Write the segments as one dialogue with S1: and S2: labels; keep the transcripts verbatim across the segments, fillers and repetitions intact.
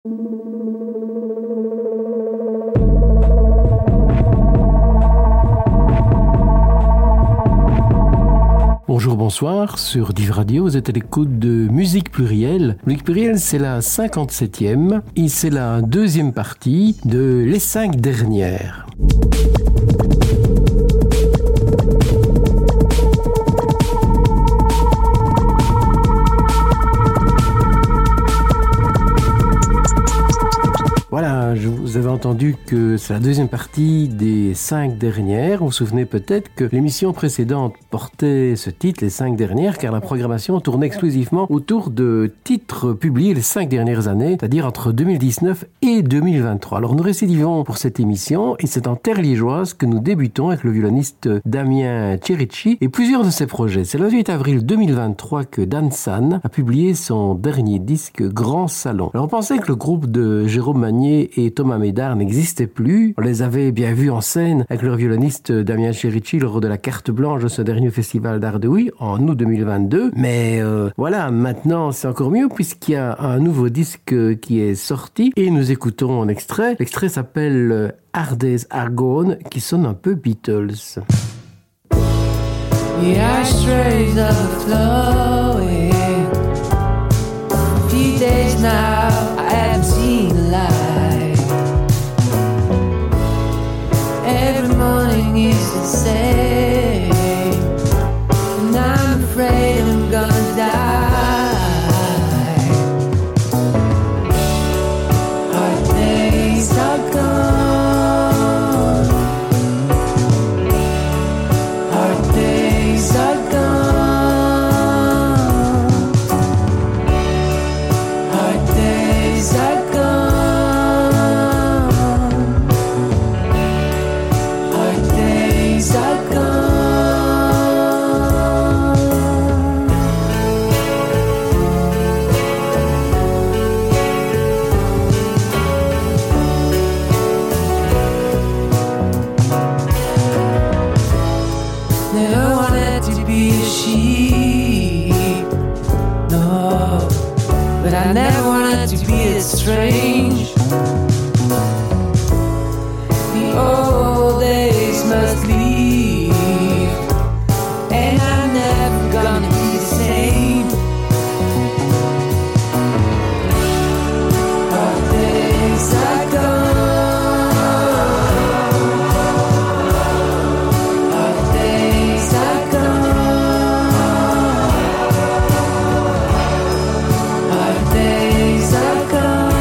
S1: Bonjour, bonsoir, sur Div Radio, vous êtes à l'écoute de Musique Plurielle. Musique Plurielle, c'est la cinquante-septième et c'est la deuxième partie de Les cinq dernières. Voilà, je vous avais entendu que c'est la deuxième partie des cinq dernières. Vous vous souvenez peut-être que l'émission précédente portait ce titre, les cinq dernières, car la programmation tournait exclusivement autour de titres publiés les cinq dernières années, c'est-à-dire entre deux mille dix-neuf et deux mille vingt-trois. Alors nous récidivons pour cette émission et c'est en terre liégeoise que nous débutons avec le violoniste Damien Cerici et plusieurs de ses projets. C'est le vingt-huit avril deux mille vingt-trois que Dan San a publié son dernier disque Grand Salon. Alors on pensait que le groupe de Jérôme Magnier et Thomas Médard n'existaient plus. On les avait bien vus en scène avec leur violoniste Damien Cerici lors de la carte blanche de ce dernier festival d'Art de Huy en août deux mille vingt-deux. Mais euh, voilà, maintenant c'est encore mieux puisqu'il y a un nouveau disque qui est sorti et nous écoutons un extrait. L'extrait s'appelle Hard Days Are Gone, qui sonne un peu Beatles.
S2: The ashtrays are flowing. A few days now I haven't seen a light. Every morning is the same, and I'm afraid I'm gonna die. Hard days are gone. Hard days are gone. Hard days are gone. I never wanted to be as strange. The old days must leave, and I'm never gonna be the same. Our days are gone. Our days are gone. Days are gone.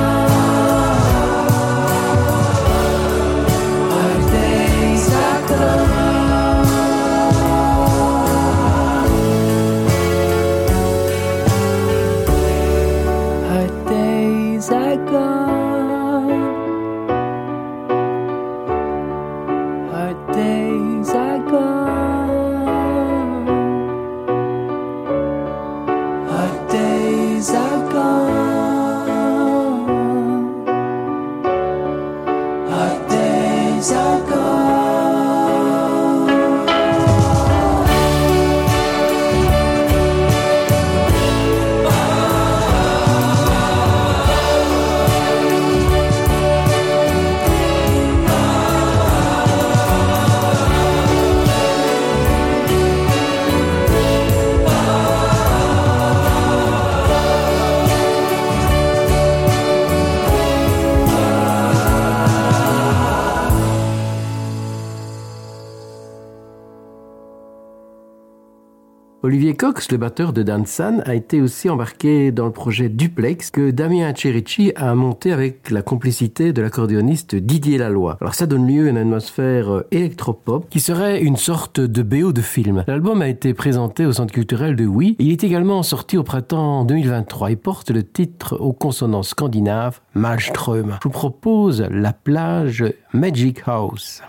S1: Olivier Cox, le batteur de Dan San, a été aussi embarqué dans le projet Duplex que Damien Cerici a monté avec la complicité de l'accordéoniste Didier Laloy. Alors ça donne lieu à une atmosphère électropop qui serait une sorte de B O de film. L'album a été présenté au Centre culturel de Huy. Il est également sorti au printemps deux mille vingt-trois et porte le titre aux consonances scandinaves Malström. Je vous propose La plage Magic House.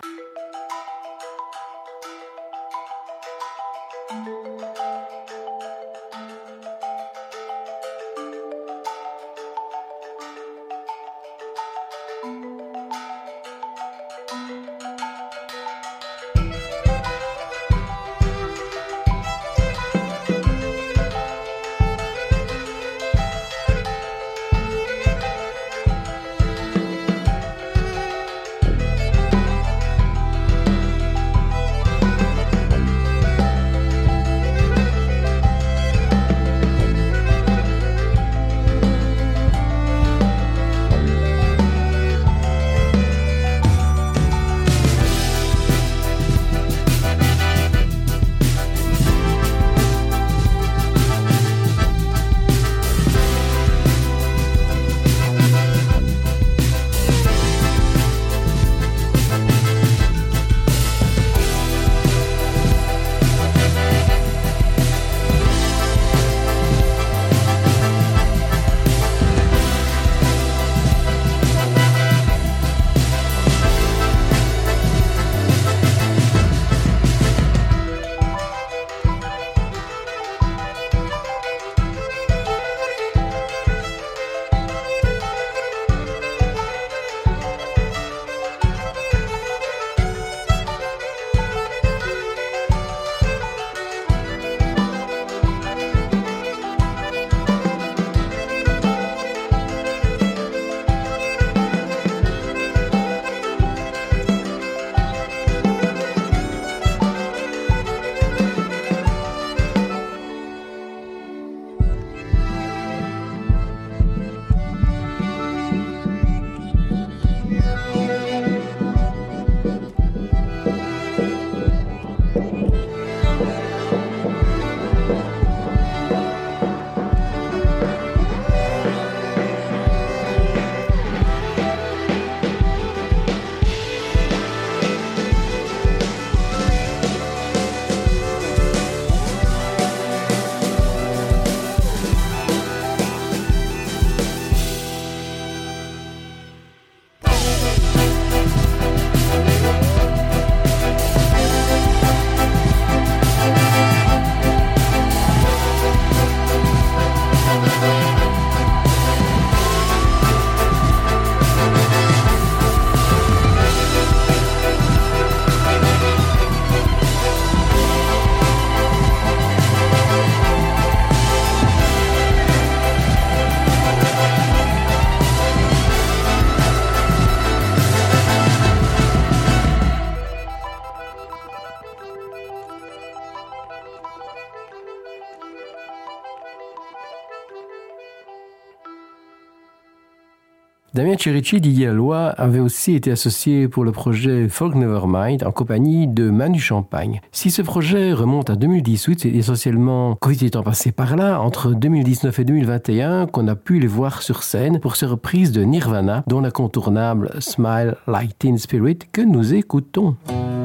S1: Damien Cherici, Didier Laloy, avait aussi été associé pour le projet Folk Nevermind en compagnie de Manu Champagne. Si ce projet remonte à deux mille dix-huit, c'est essentiellement Covid étant passé par là, entre deux mille dix-neuf et deux mille vingt et un, qu'on a pu les voir sur scène pour ces reprises de Nirvana, dont l'incontournable Smile Like Teen Spirit que nous écoutons.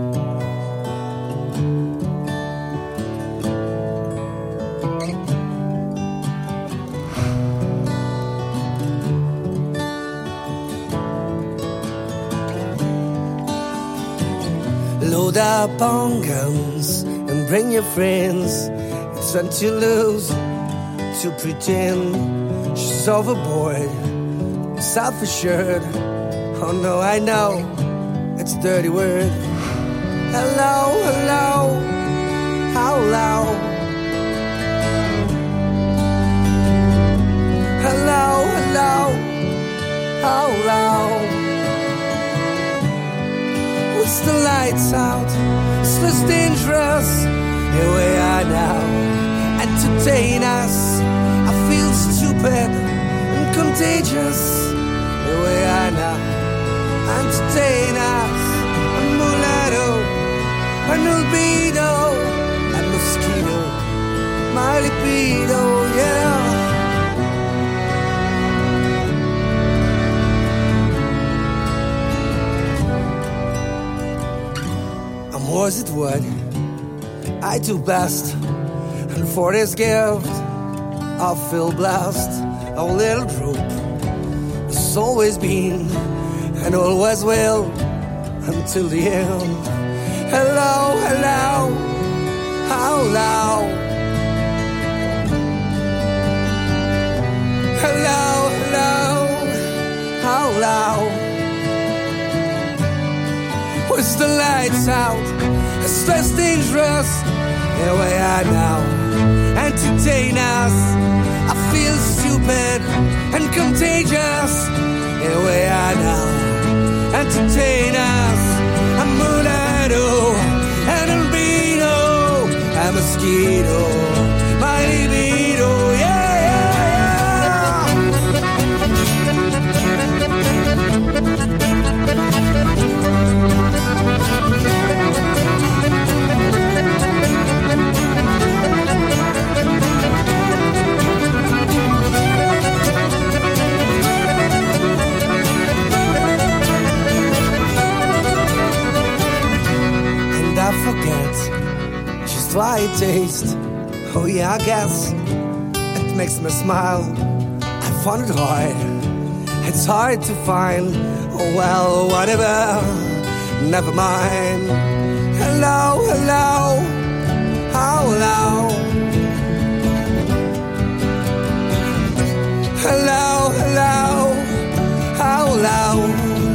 S3: Load up on guns and bring your friends. It's fun to lose, to pretend she's overboard, self-assured. Oh no, I know, it's a dirty word. Hello, hello, how loud? Hello, hello, how loud? It's the lights out, it's less dangerous. Here we are now, entertain us. I feel stupid and contagious. Here we are now, entertain us. A mulatto, an albedo, a mosquito, my libido, yeah. Was it what I do best? And for this gift I feel blessed. Our little group has always been and always will until the end. Hello, hello, how loud? Hello, hello, how loud? With the lights out, it's less dangerous. Here we are now, entertain us. I feel stupid and contagious. Here we are now, entertain us. A mulatto, an albino, a mosquito, my libido, yeah, I forget just why it tastes. Oh yeah, I guess it makes me smile. I found it hard, it's hard to find. Oh well, whatever, never mind. Hello, hello, how loud? Hello, hello, how loud?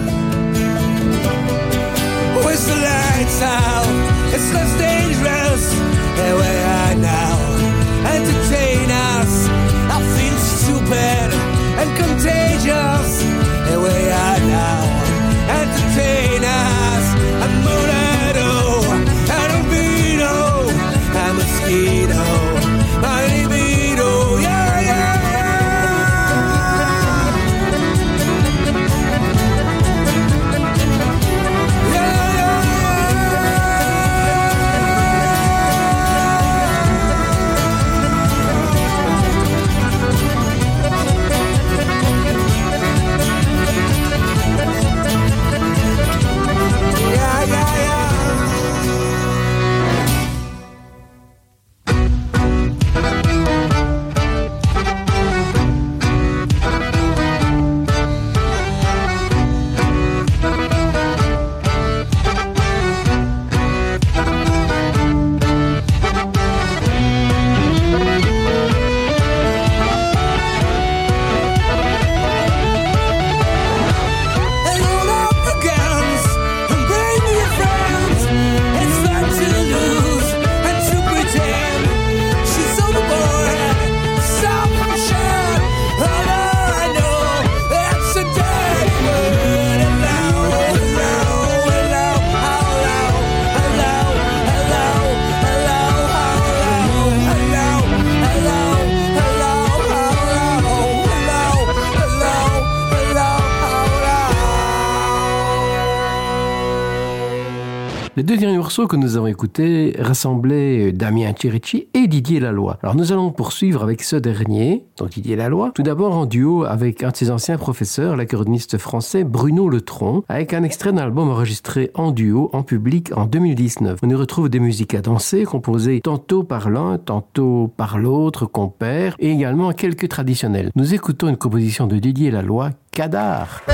S3: With the lights out, it's less dangerous. Here we are now, entertain us. I feel stupid and contagious. Here we are now, entertain us. A mulatto, an albino, a mosquito, my libido, yeah, yeah, yeah.
S1: Les deux derniers morceaux que nous avons écoutés rassemblaient Damien Chierici et Didier Laloy. Alors nous allons poursuivre avec ce dernier, donc Didier Laloy, tout d'abord en duo avec un de ses anciens professeurs, l'accordéoniste français Bruno Letron, avec un extrait d'un album enregistré en duo en public en deux mille dix-neuf. On y retrouve des musiques à danser, composées tantôt par l'un, tantôt par l'autre, compère, et également quelques traditionnels. Nous écoutons une composition de Didier Laloy, Kadar.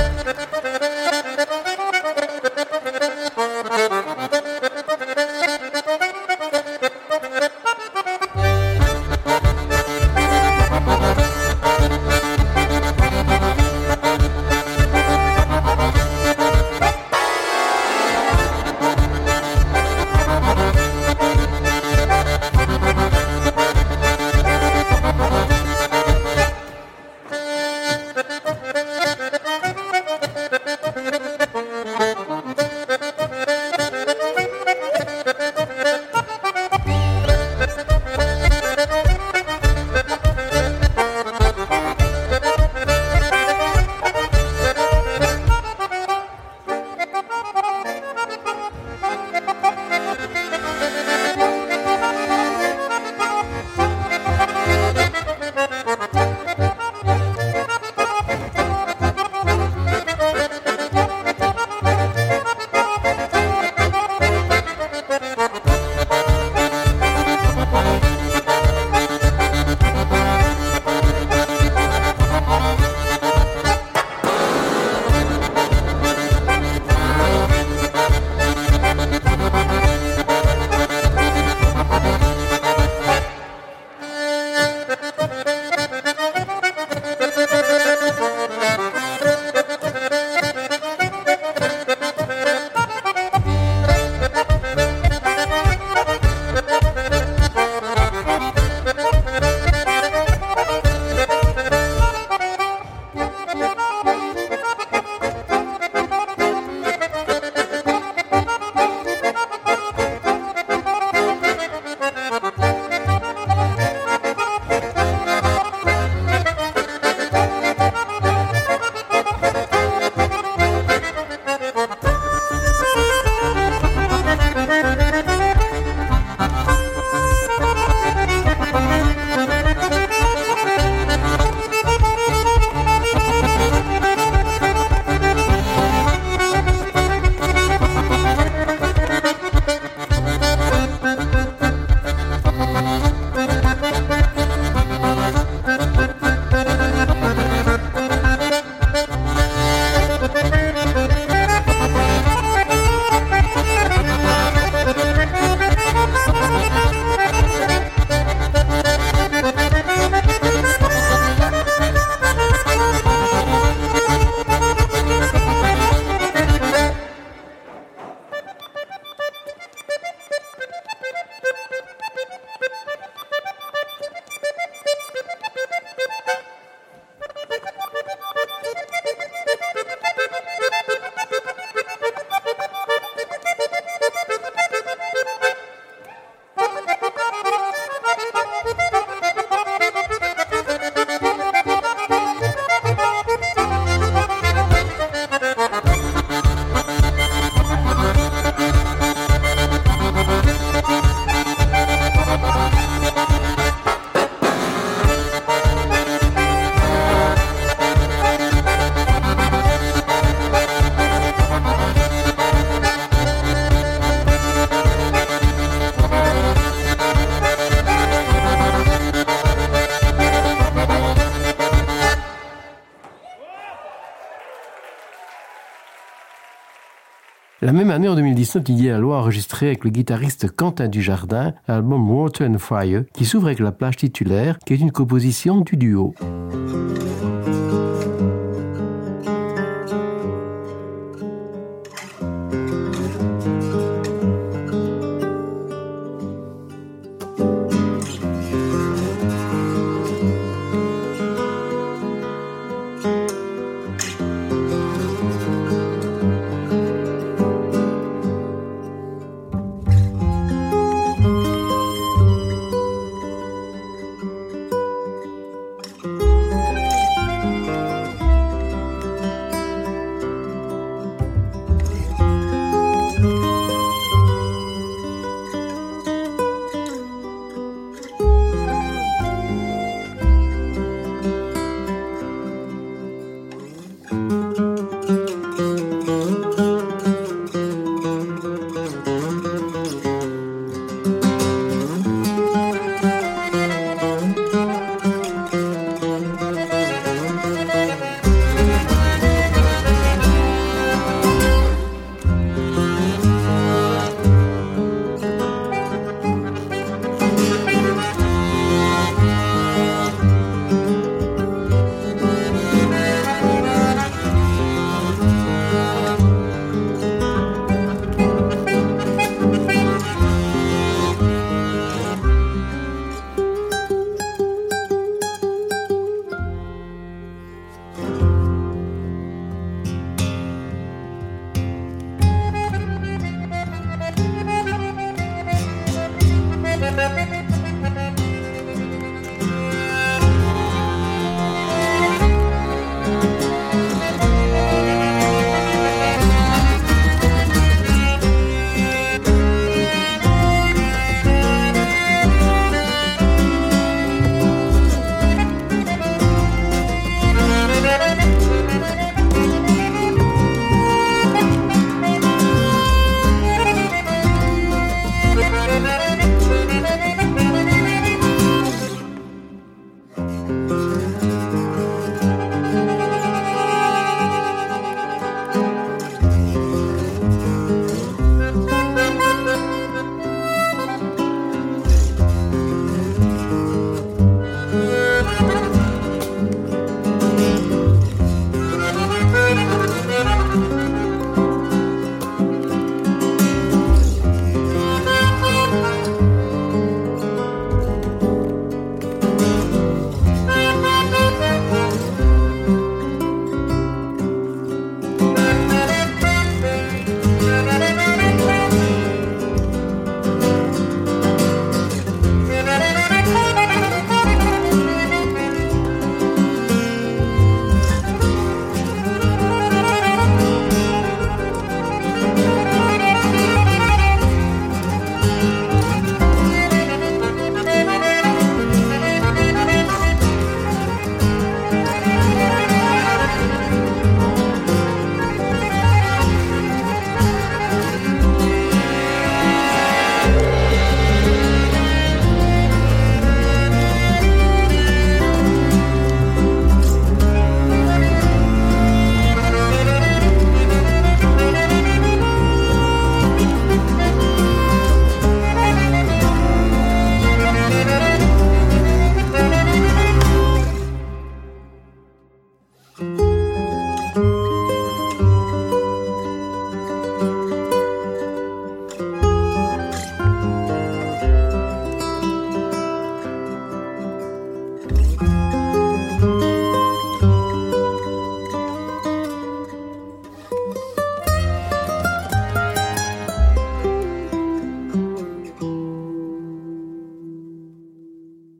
S1: La même année, en deux mille dix-neuf, Didier Laloy a enregistré avec le guitariste Quentin Dujardin l'album Water and Fire, qui s'ouvre avec la plage titulaire, qui est une composition du duo.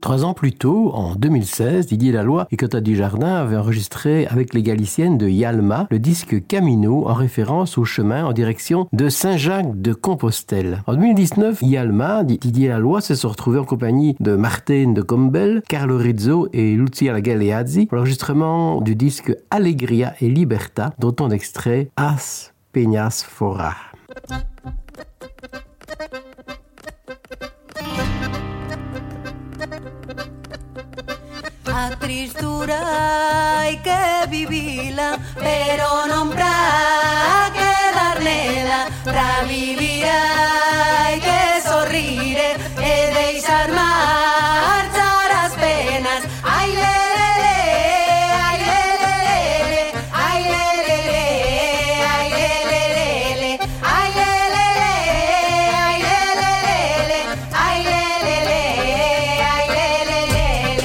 S1: Trois ans plus tôt, en deux mille seize, Didier Laloy et Cotta Dujardin avaient enregistré avec les Galiciennes de Yalma le disque Camino en référence au chemin en direction de Saint-Jacques de Compostelle. En deux mille dix-neuf, Yalma, Didier Laloy se sont retrouvés en compagnie de Martine de Combel, Carlo Rizzo et Lucia Galeazzi pour l'enregistrement du disque Allegria et Libertà, dont on extrait As Peñas Fora.
S4: A tristura hai que vivila, pero non pra quedar nela. Pra vivir hai que sorrire e deixar marchar as penas. Ai lelele, ai lelele, ai lelele, ai lelele, ai lelele, ai lelele, ai lelele, ai lelele.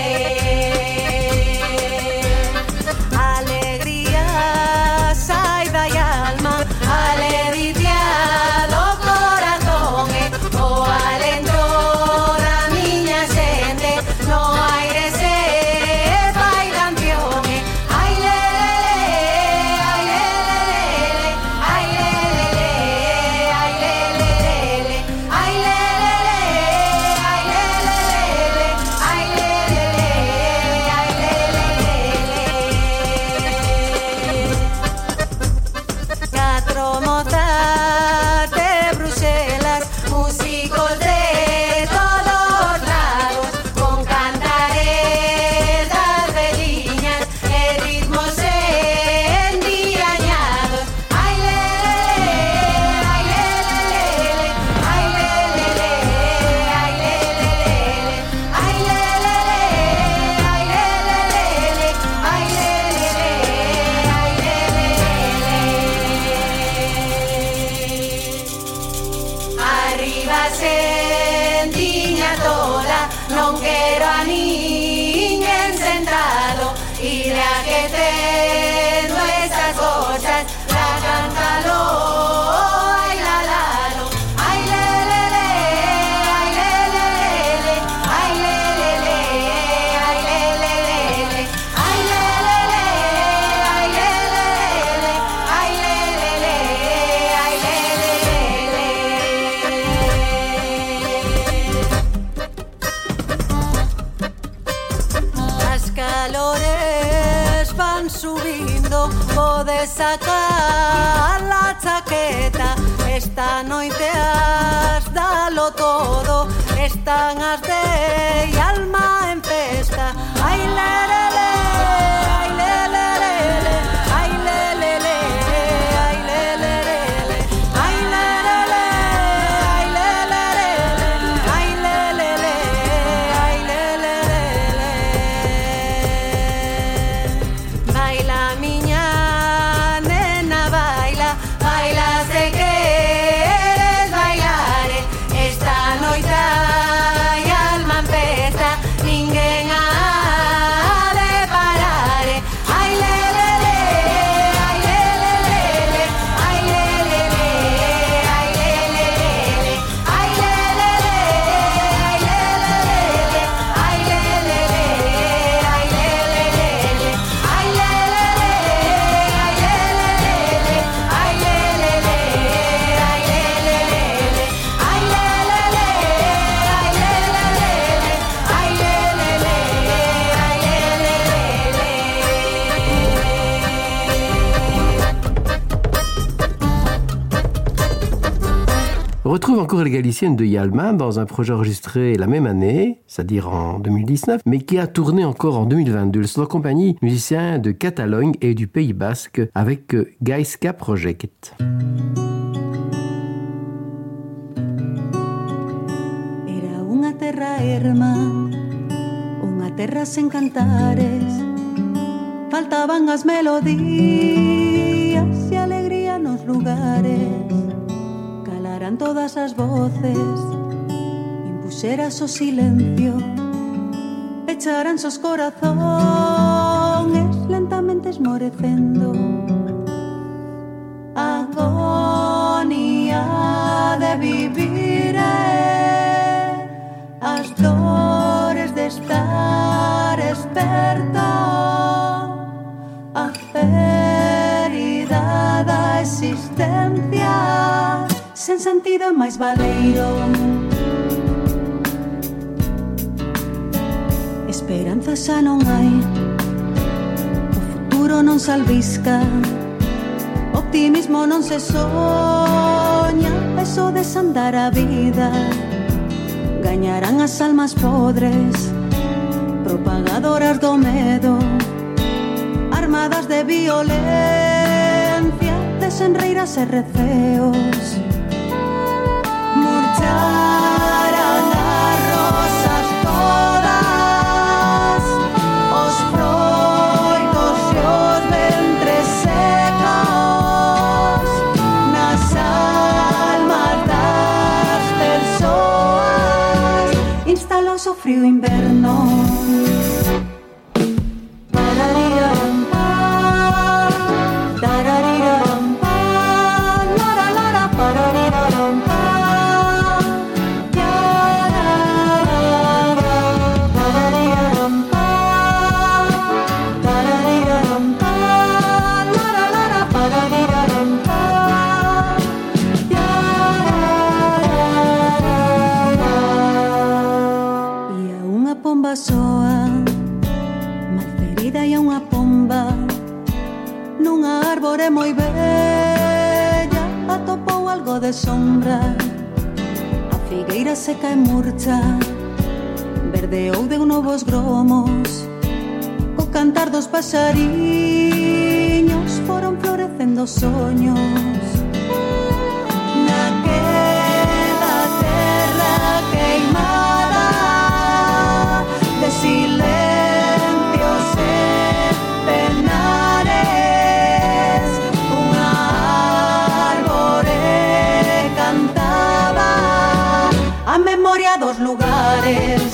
S4: Alegría saída e alma, alegría do corazón, eh, o alento da miña xente, no aire se fai canción, eh. Ai lelele, ai lelele, ai lelele, ai lelele, ai lelele, ai lelele, ai lelele, ai lelele. Catro mozas de Bruselas, músicos de todos lados, con cantares das veliñas e ritmos endiañados. Ai lelele, ai lelele, ai lelele, ai lelele, ai lelele, ai lelele, ai lelele, ai lelele. Arriba sentiña toda, non quero a niñen sentado, iré a que tendo esas cosas, la cántalo, ai la lalo, ai lelele, ai lelele, ai lelele, ai lelele, ai lelele, ai lelele, ai lelele, ai lelele. As calores van subindo, podes sacar la chaqueta. Esta noite has dalo todo, están as de Alma en festa. Ai lelele, ai lelele, ai lelele, ai lelele, ai lelele, ai lelele, ai lelele, ai lelele. Baila miña nena, baila, baila se queres bailar. Esta noite hai alma en festa, ninguén ha de parar. Ai lelele, ai lelele, ai lelele, ai lelele, ai lelele, ai lelele, ai lelele, ai lelele, ai lelele, ai lelele, ai lelele, ai lelele, ai lelele, ai lelele, ai lelele, ai
S1: On retrouve encore les Galiciennes de Yalma dans un projet enregistré la même année, c'est-à-dire en deux mille dix-neuf, mais qui a tourné encore en deux mille vingt-deux. Ils sont en compagnie musiciens de Catalogne et du Pays Basque avec Gaisca Project.
S5: Era unha terra erma, unha terra sen cantares, faltaban as melodías e alegría nos lugares. Calaran todas as voces, impuxeras o silencio, pecharan os corazones lentamente esmorecendo. Agonía de vivir é as dores de estar existencia sen sentido e máis baleiro. Esperanza xa non hai, o futuro non se albisca, optimismo non se soña, é só desandar a vida. Gañarán as almas podres, propagadoras do medo, armadas de violencia, desenreiras e receos. Murcharán as rosas todas, os froitos e os ventres secos, nas almas das persoas instalouse o frío inverno. Soa, malferida e unha pomba nunha árbore moi bella atopou algo de sombra. A figueira seca e murcha verdeou de novos gromos, co cantar dos pasariños foron florecendo soños. Naquela terra queimada de silencios e penares, unha árbore cantaba a memoria dos lugares.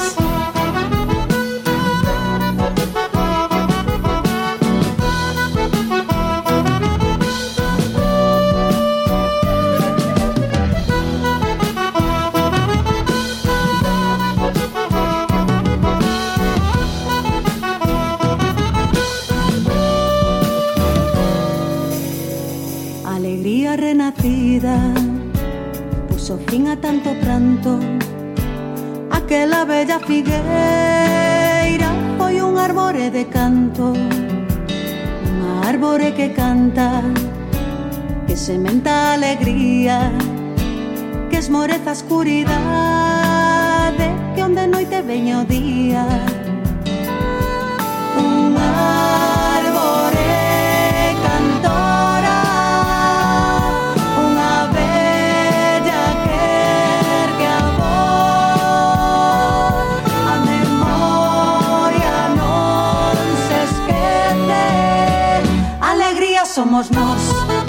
S5: Renacida puso fin a tanto pranto. Aquela bella figueira foi un árbore de canto, unha árbore que canta, que sementa alegría, que esmoreza a escuridade, que onde noite veña o día. Unha árbore cantora, somos nós.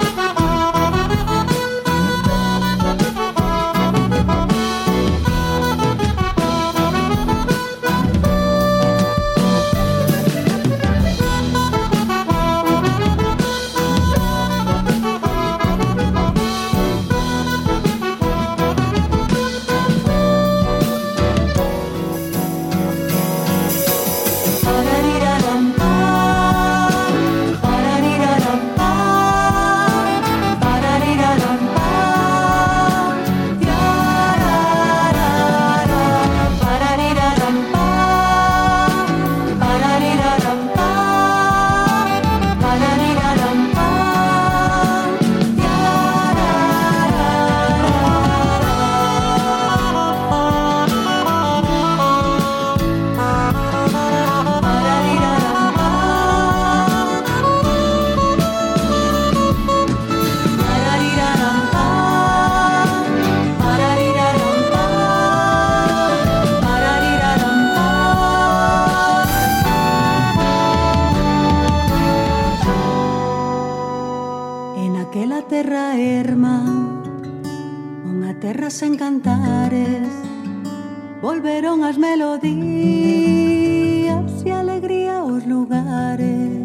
S5: terra erma, unha terra sen cantares, volveron as melodías e alegría aos lugares.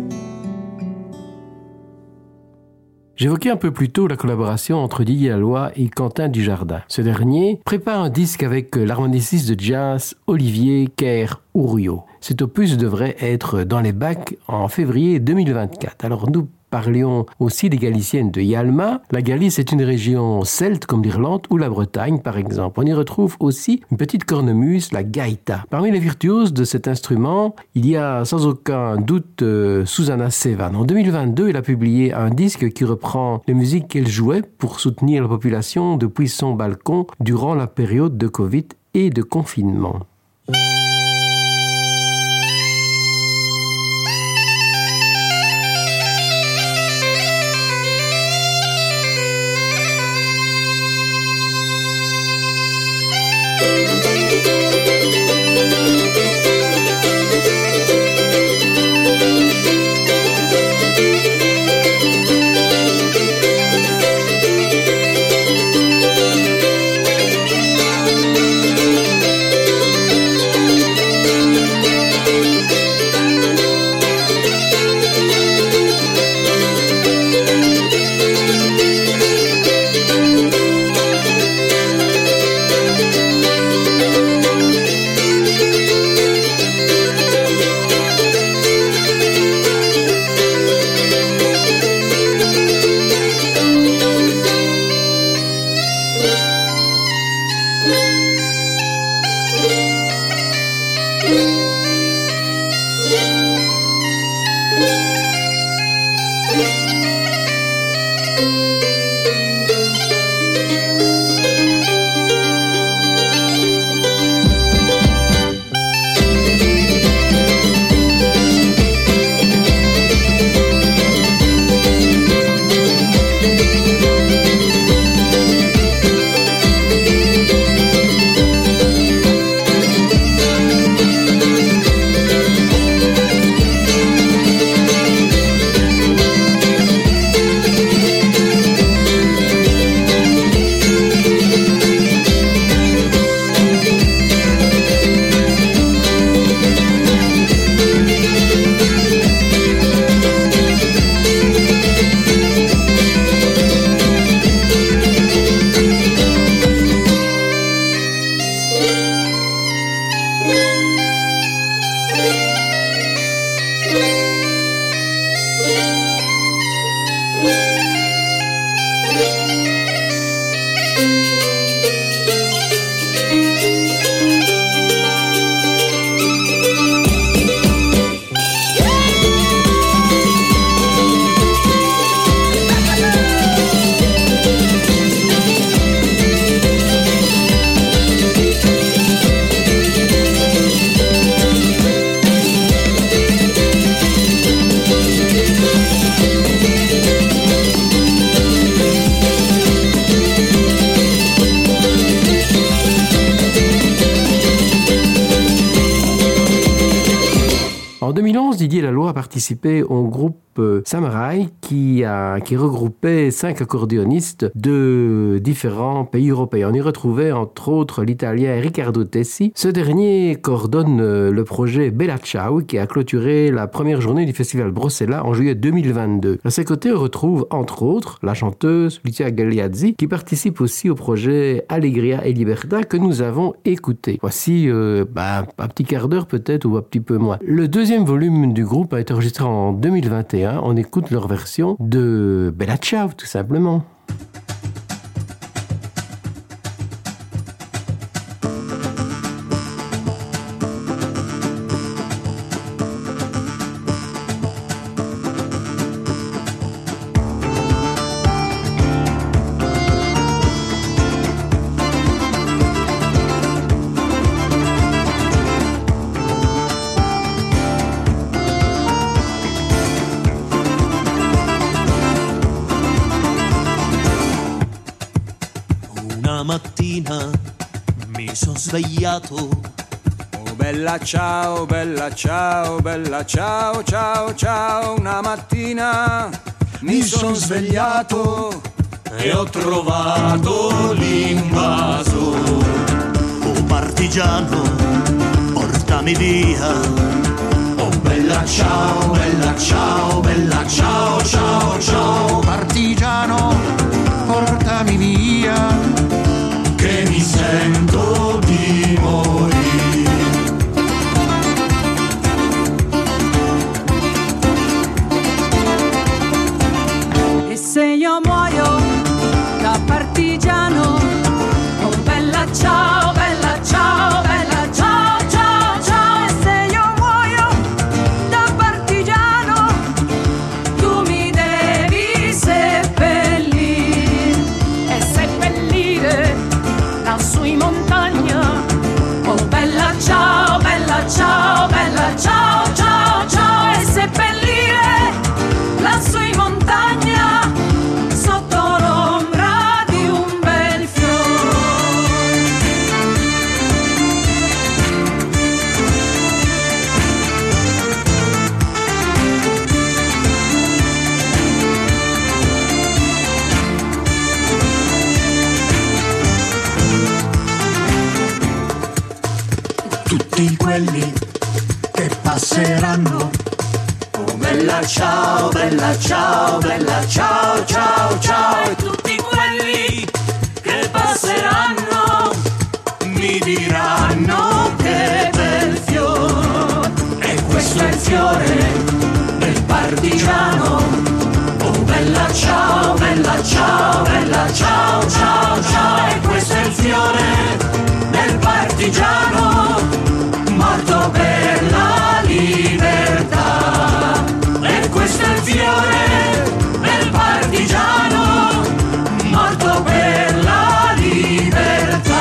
S1: J'évoquais un peu plus tôt la collaboration entre Didier Laloy et Quentin Dujardin. Ce dernier prépare un disque avec l'harmoniciste de jazz Olivier Kerr-Ouriot. Cet opus devrait être dans les bacs en février deux mille vingt-quatre. Alors nous parlions aussi des Galiciennes de Yalma. La Galice est une région celte comme l'Irlande ou la Bretagne par exemple. On y retrouve aussi une petite cornemuse, la gaïta. Parmi les virtuoses de cet instrument, il y a sans aucun doute euh, Susana Sevan. En deux mille vingt-deux, elle a publié un disque qui reprend les musiques qu'elle jouait pour soutenir la population depuis son balcon durant la période de Covid et de confinement. En deux mille onze, Didier Laloy a participé au groupe Samurai qui, a, qui regroupait cinq accordéonistes de différents pays européens. On y retrouvait entre autres l'italien Riccardo Tessi. Ce dernier coordonne le projet Bella Ciao qui a clôturé la première journée du festival Bruxelles en juillet deux mille vingt-deux. À ses côtés, on retrouve entre autres la chanteuse Lucia Gagliazzi qui participe aussi au projet Allegria e Libertà que nous avons écouté. Voici euh, bah, un petit quart d'heure peut-être ou un petit peu moins. Le deuxième volume du groupe a été enregistré en deux mille vingt et un. On écoute leur version de Bella Ciao, tout simplement.
S6: Mattina mi sono svegliato.
S3: Oh bella ciao, bella ciao, bella ciao, ciao, ciao. Una mattina mi sono svegliato
S6: e ho trovato l'invaso. Oh partigiano, portami via. Oh bella ciao, bella ciao, bella ciao, ciao, ciao.
S7: Partigiano, portami via.
S6: Che mi sento di morire.
S5: se io muoio da partigiano, oh bella ciao, bella ciao, bella ciao, ciao, ciao. E se io muoio da partigiano, tu mi devi seppellire e seppellire lassù in montagna, oh bella ciao, bella ciao, bella ciao, ciao, ciao. E seppellire lassù in montagna sotto l'ombra di un bel fiore.
S6: Tutti quelli che passeranno, oh bella ciao, bella ciao, bella ciao, ciao, ciao. E tutti quelli che passeranno mi diranno che bel fiore. E questo è il fiore del partigiano, oh bella ciao, bella ciao, bella ciao, ciao, ciao. E questo è il fiore del partigiano, morto per la libertà. E questo è il fiore del partigiano, morto per la libertà.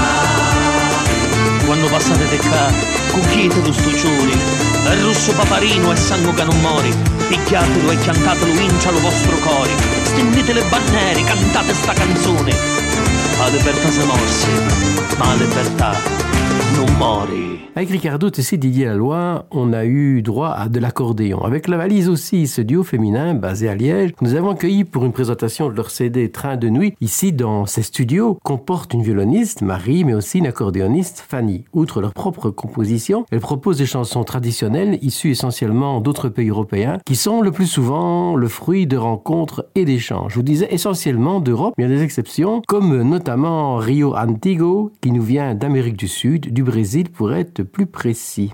S8: Quando passate te qua, cucchiete lo stuccioni, il russo paparino e sangue che non mori, picchiatelo e cantatelo vincia lo vostro cuore, stendete le bandiere, cantate sta canzone. La libertà se morse, ma la libertà non mori.
S1: Avec Ricardo Tessi, Didier Laloy, on a eu droit à de l'accordéon. Avec La Valise aussi, ce duo féminin basé à Liège, nous avons accueilli pour une présentation de leur C D Train de nuit, ici dans ces studios, comporte une violoniste, Marie, mais aussi une accordéoniste, Fanny. Outre leur propre composition, elles proposent des chansons traditionnelles issues essentiellement d'autres pays européens, qui sont le plus souvent le fruit de rencontres et d'échanges. Je vous disais essentiellement d'Europe, mais il y a des exceptions, comme notamment Rio Antigo, qui nous vient d'Amérique du Sud, du Brésil pour être plus précis.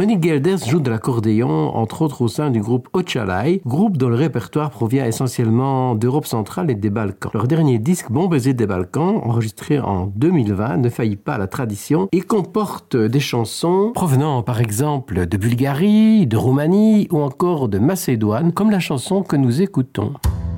S1: Monique Gelders joue de l'accordéon, entre autres au sein du groupe Ochalai, groupe dont le répertoire provient essentiellement d'Europe centrale et des Balkans. Leur dernier disque, Bon baiser des Balkans, enregistré en deux mille vingt, ne faillit pas à la tradition et comporte des chansons provenant par exemple de Bulgarie, de Roumanie ou encore de Macédoine, comme la chanson que nous écoutons.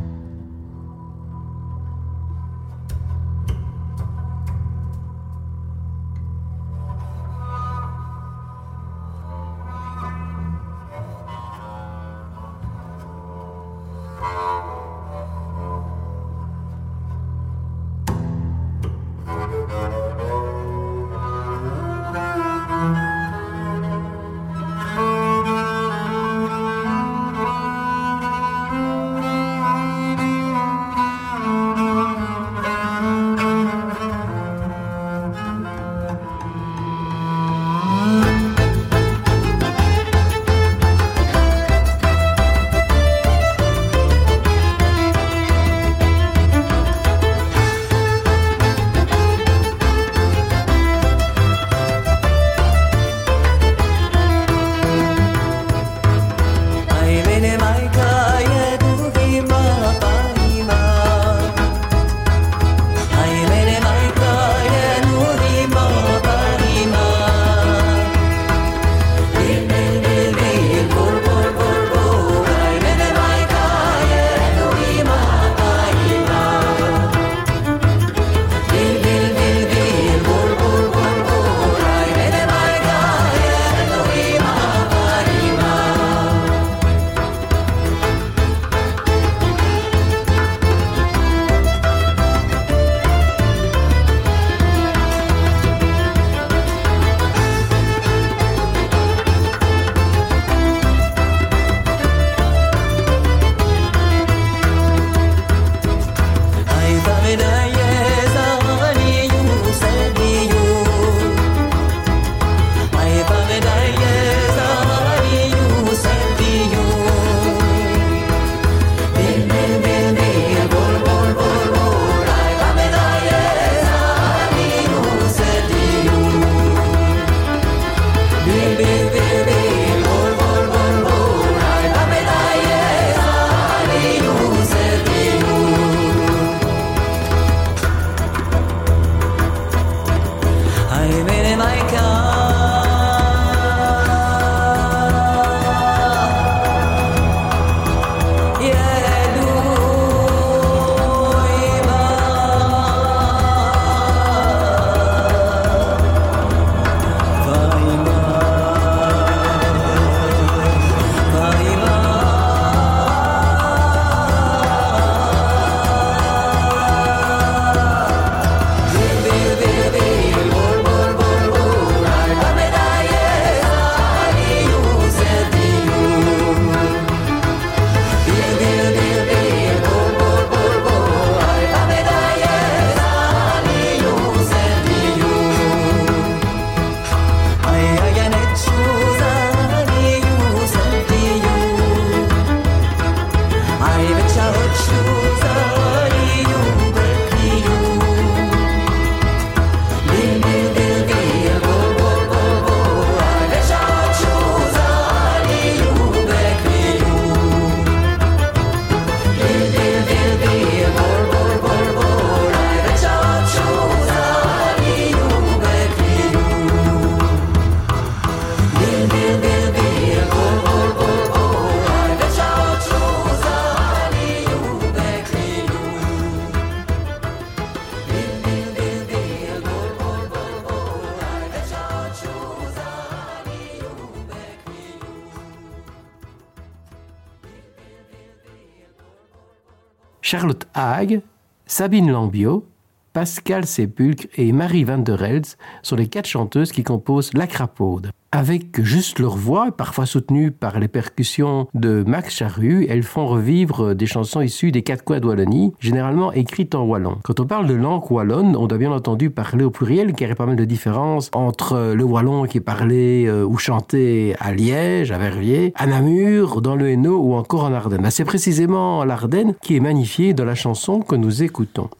S1: Charlotte Haag, Sabine Lambiot, Pascal Sépulcre et Marie Van der Elst sont les quatre chanteuses qui composent La Crapaude. Avec juste leur voix, parfois soutenue par les percussions de Max Charru, elles font revivre des chansons issues des quatre coins de Wallonie, généralement écrites en wallon. Quand on parle de langue wallonne, on doit bien entendu parler au pluriel, car il y a pas mal de différences entre le wallon qui est parlé euh, ou chanté à Liège, à Verviers, à Namur, dans le Hainaut ou encore en Ardennes. Mais c'est précisément l'Ardenne qui est magnifiée dans la chanson que nous écoutons.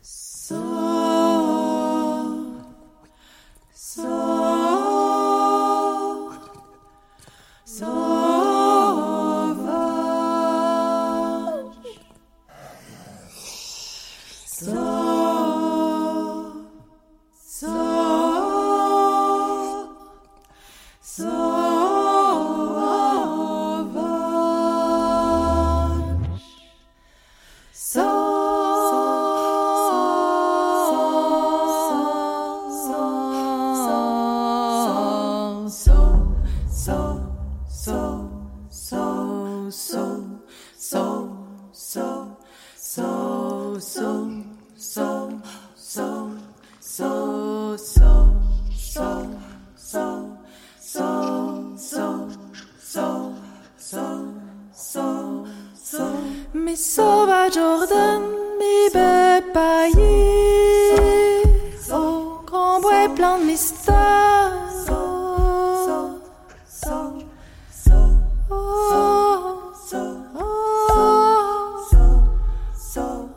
S2: so, so, so, so, so, so, so, so, so, so. Mi sauva Jordan, mi belle paillée, au grand bois plein de mystères. So, so, so, oh, so, oh, so, so,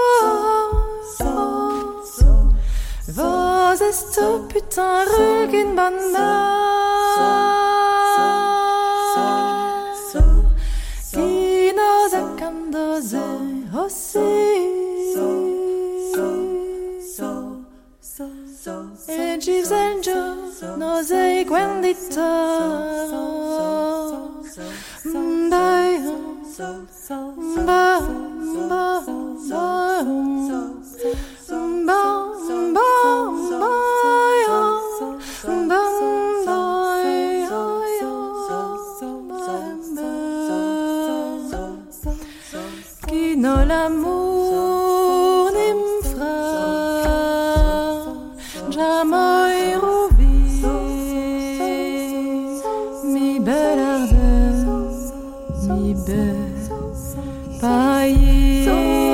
S2: so, so. Vos est ce putain rue qu'une bonne mère. Qui nous a candosé aussi. E Gives and Joe nos e guendita. Mbaya, mbaya, mbaya, qui n'a l'amour ni m'fra jamais rouvi mi belle ardeur mi belle paillée.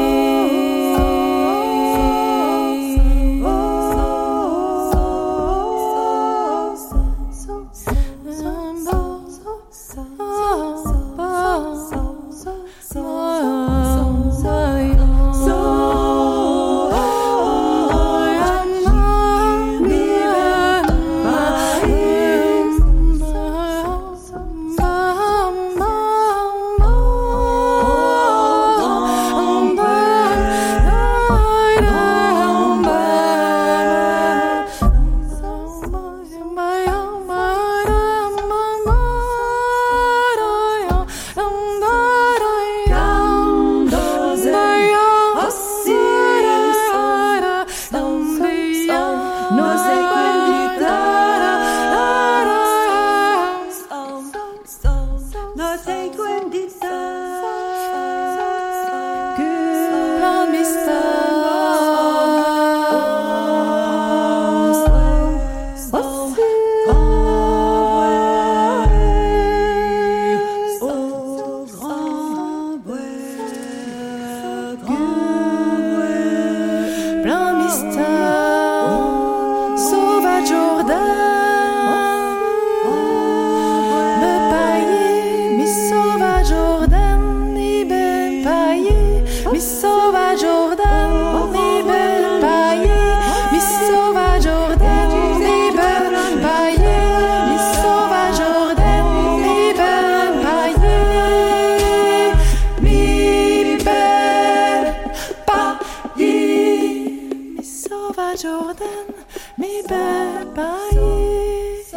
S2: Jordan, mi belle paille,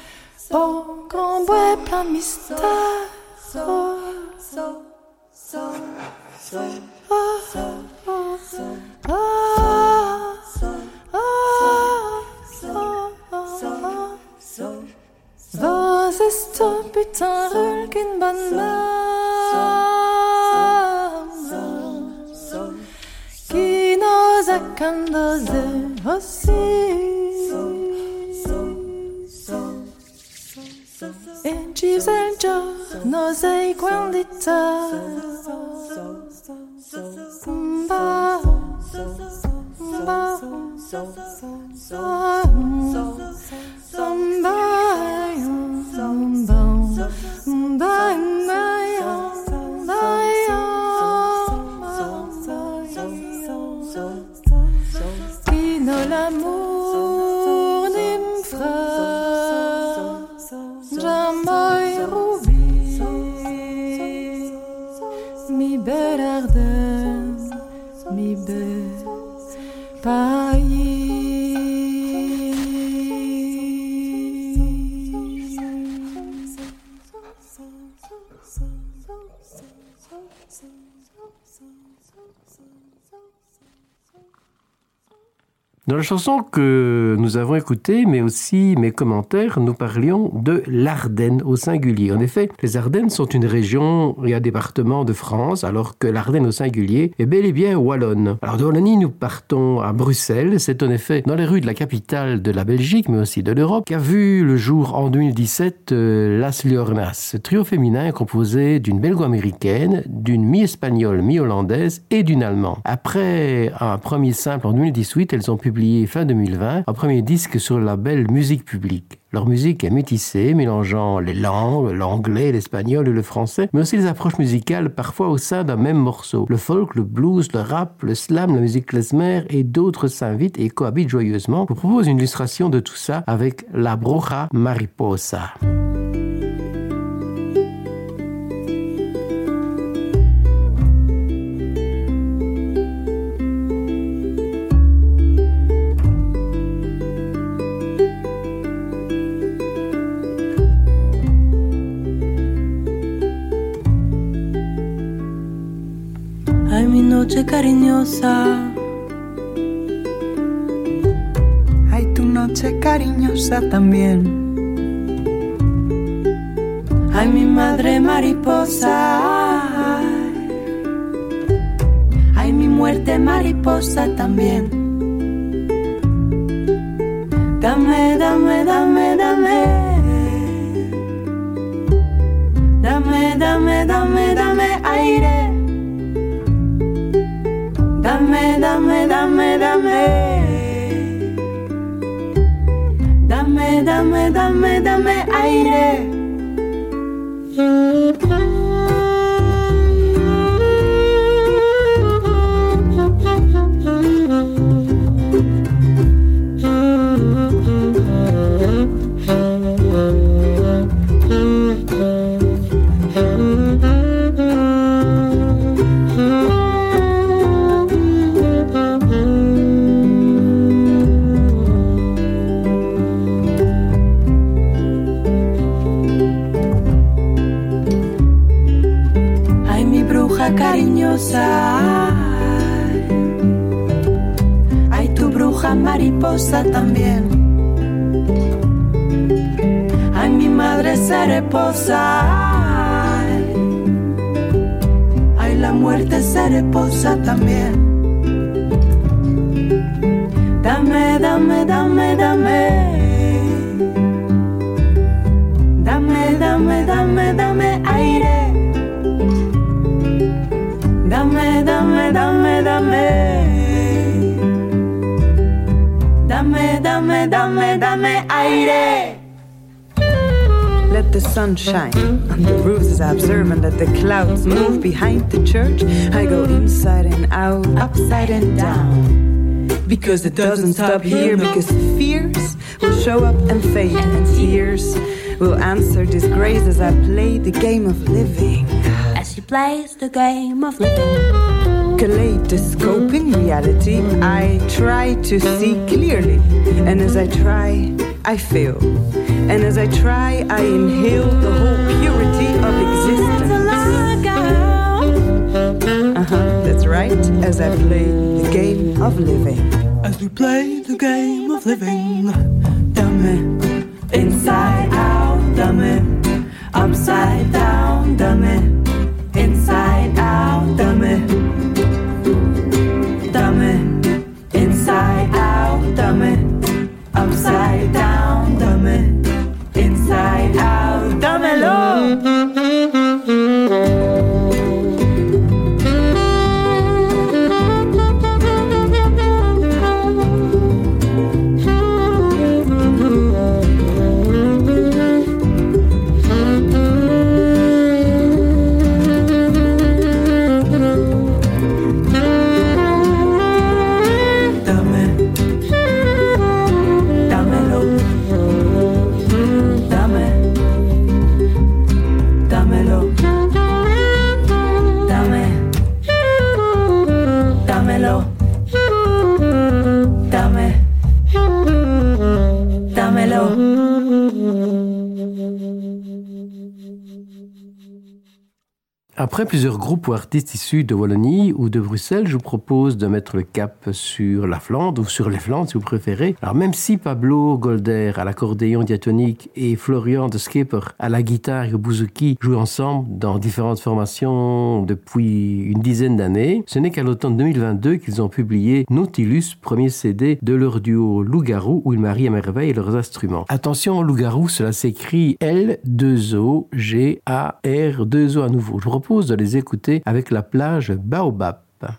S2: au grand bois plein de mystères. Oh, so, so, so, oh, oh, so, oh, so, oh, so, so, vos est un putain rôle qu'une bonne main. Qui nous a candosé aussi. E Gives and Joe nos e guendita. Mba, mba, qui n'a l'amour ni m'fra jamais rouvi mi belle ardeur mi belle paille.
S1: Dans la chanson que nous avons écoutée, mais aussi mes commentaires, nous parlions de l'Ardenne au singulier. En effet, les Ardennes sont une région et un département de France, alors que l'Ardenne au singulier est bel et bien wallonne. Alors de Wallonie, nous partons à Bruxelles. C'est en effet dans les rues de la capitale de la Belgique, mais aussi de l'Europe, qu'a vu le jour en deux mille dix-sept euh, Las Liornas. Ce trio féminin est composé d'une belgo-américaine, d'une mi-espagnole, mi-hollandaise et d'une allemande. Après un premier simple en deux mille dix-huit, elles ont publié fin deux mille vingt un premier disque sur le label Musique Publique. Leur musique est métissée, mélangeant les langues, l'anglais, l'espagnol et le français, mais aussi les approches musicales parfois au sein d'un même morceau. Le folk, le blues, le rap, le slam, la musique klezmer et d'autres s'invitent et cohabitent joyeusement. Je vous propose une illustration de tout ça avec La Bruja Mariposa.
S9: Ay, mi noche cariñosa.
S10: Ay, tu noche cariñosa también.
S9: Ay, mi madre mariposa. Ay, mi muerte mariposa también. Dame, dame, dame, dame. Dame, dame, dame, dame aire. Dame, dame, dame, dame. Dame, dame, dame, dame aire. Cariñosa, ay, tu bruja mariposa también. Ay, mi madre cereposa, ay, la muerte cereposa también. Dame, dame, dame, dame. Dame, dame, dame, dame aire. Dame, dame, dame, dame. Dame, dame, dame, dame aire.
S10: Let the sun shine on the roofs as I observe and let the clouds move behind the church. I go inside and out, upside and down. Because it doesn't stop here, because fears will show up and fade, and tears will answer disgrace as I play the game of living.
S9: As she plays the game of living.
S10: Kaleidoscoping reality, I try to see clearly. And as I try, I fail. And as I try, I inhale the whole purity of existence. Uh-huh, that's right, as I play the game of living.
S6: As we play the game of living.
S10: Dame,
S9: inside out, dame, upside down, dame, inside out, dame, dame, inside out, dame, upside down, dame, inside out, dámelo.
S1: Après plusieurs groupes ou artistes issus de Wallonie ou de Bruxelles, je vous propose de mettre le cap sur la Flandre ou sur les Flandres si vous préférez. Alors même si Pablo Golder à l'accordéon diatonique et Florian de Skipper à la guitare et au bouzouki jouent ensemble dans différentes formations depuis une dizaine d'années, ce n'est qu'à l'automne deux mille vingt-deux qu'ils ont publié Nautilus, premier C D de leur duo Loup-Garou où ils marient à merveille leurs instruments. Attention, Loup-Garou, cela s'écrit L deux O G A R deux O à nouveau. Je vous propose de les écouter avec la plage Baobab.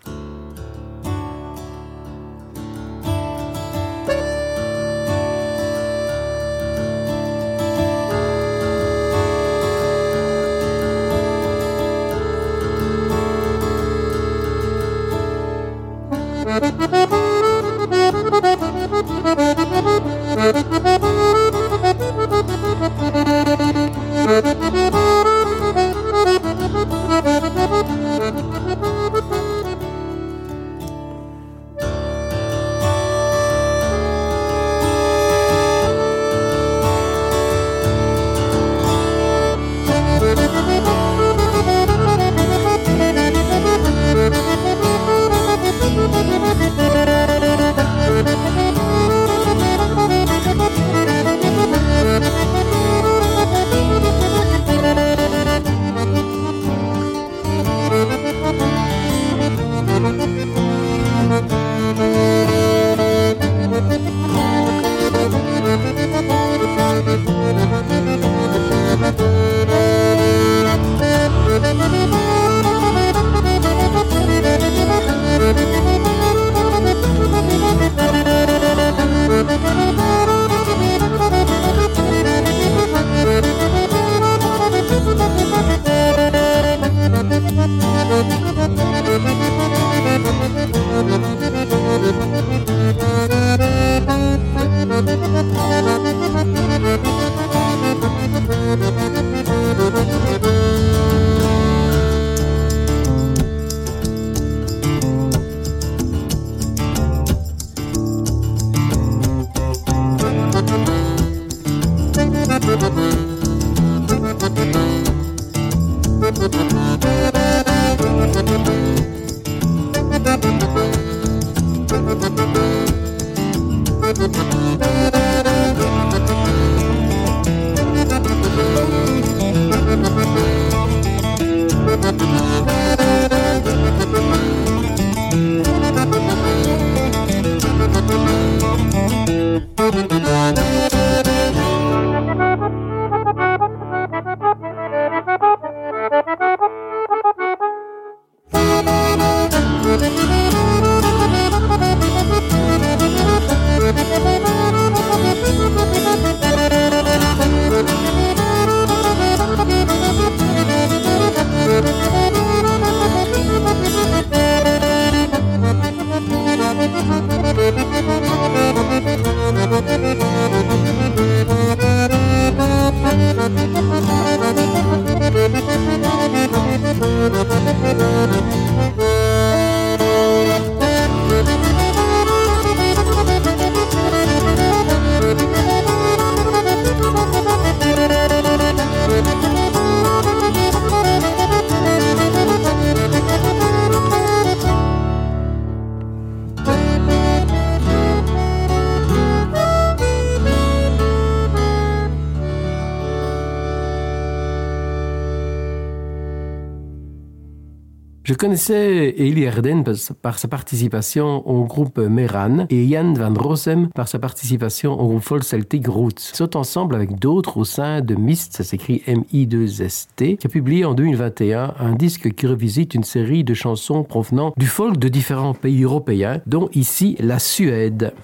S1: Je connaissais Eli Erden par sa participation au groupe Meran et Jan van Rossem par sa participation au groupe folk Celtic Roots. Ils sont ensemble avec d'autres au sein de Mist, ça s'écrit M I deux S T, qui a publié en deux mille vingt et un un disque qui revisite une série de chansons provenant du folk de différents pays européens, dont ici la Suède.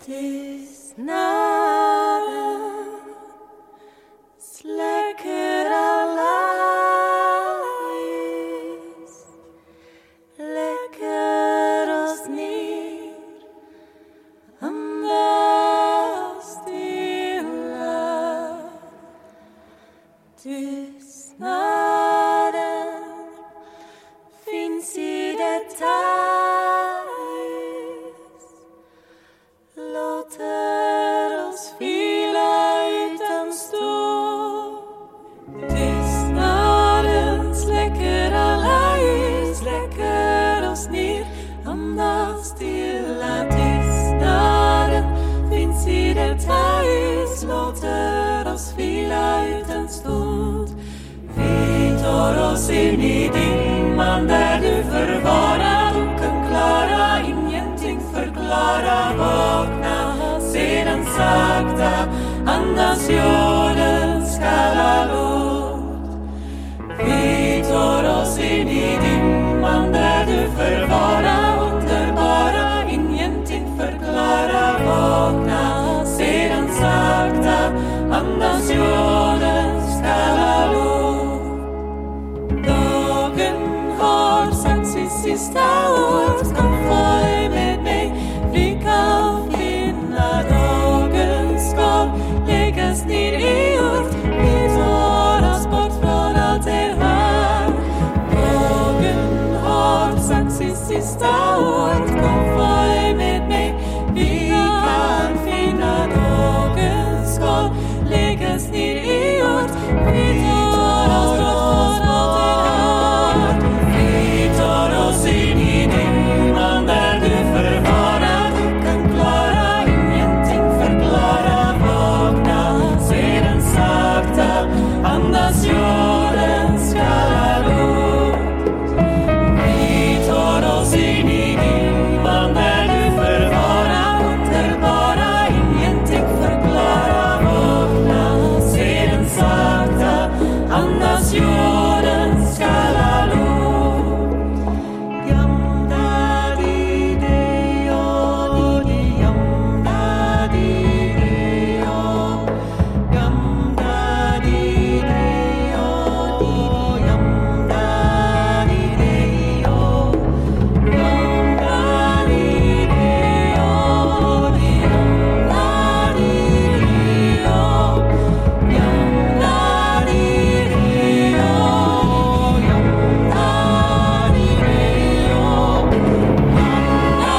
S11: Låter låter oss vila ut en stund. Vi tar oss in i dimman där du förvarar duken klara, ingenting förklara, vakna sedan sakta, andas jordens kalla luft. Vi tar oss in i dimman där du förvarar underbara, ingenting förklara, vakna sedan sakta, andas jordens kalla luft. Dagen har sagt sitt sista ord, kom följ med mig, vi kan finna dagens skal, läggas ner i jord, vi tar oss bort från allt det här. Dagen har sagt sitt sista ord, kom följ med mig, vi kan finna dagens skal, läggas ner i jord, vi tar oss bort från allt det här. Vi tar oss in i dimman där du förvarar duken klara, ingenting förklara, vakna sedan sakta, andas jordens kalla luft. Vi tar oss in i dimman där du förvarar underbara, ingenting förklara, vakna sedan sakta, andas jordens kalla luft. Yam da di de yo, di yam da di de yo, yam da di de yo, di yam da di de yo, yam da di de yo, di yam da di de yo, yam da di de yo, yam da di de yo.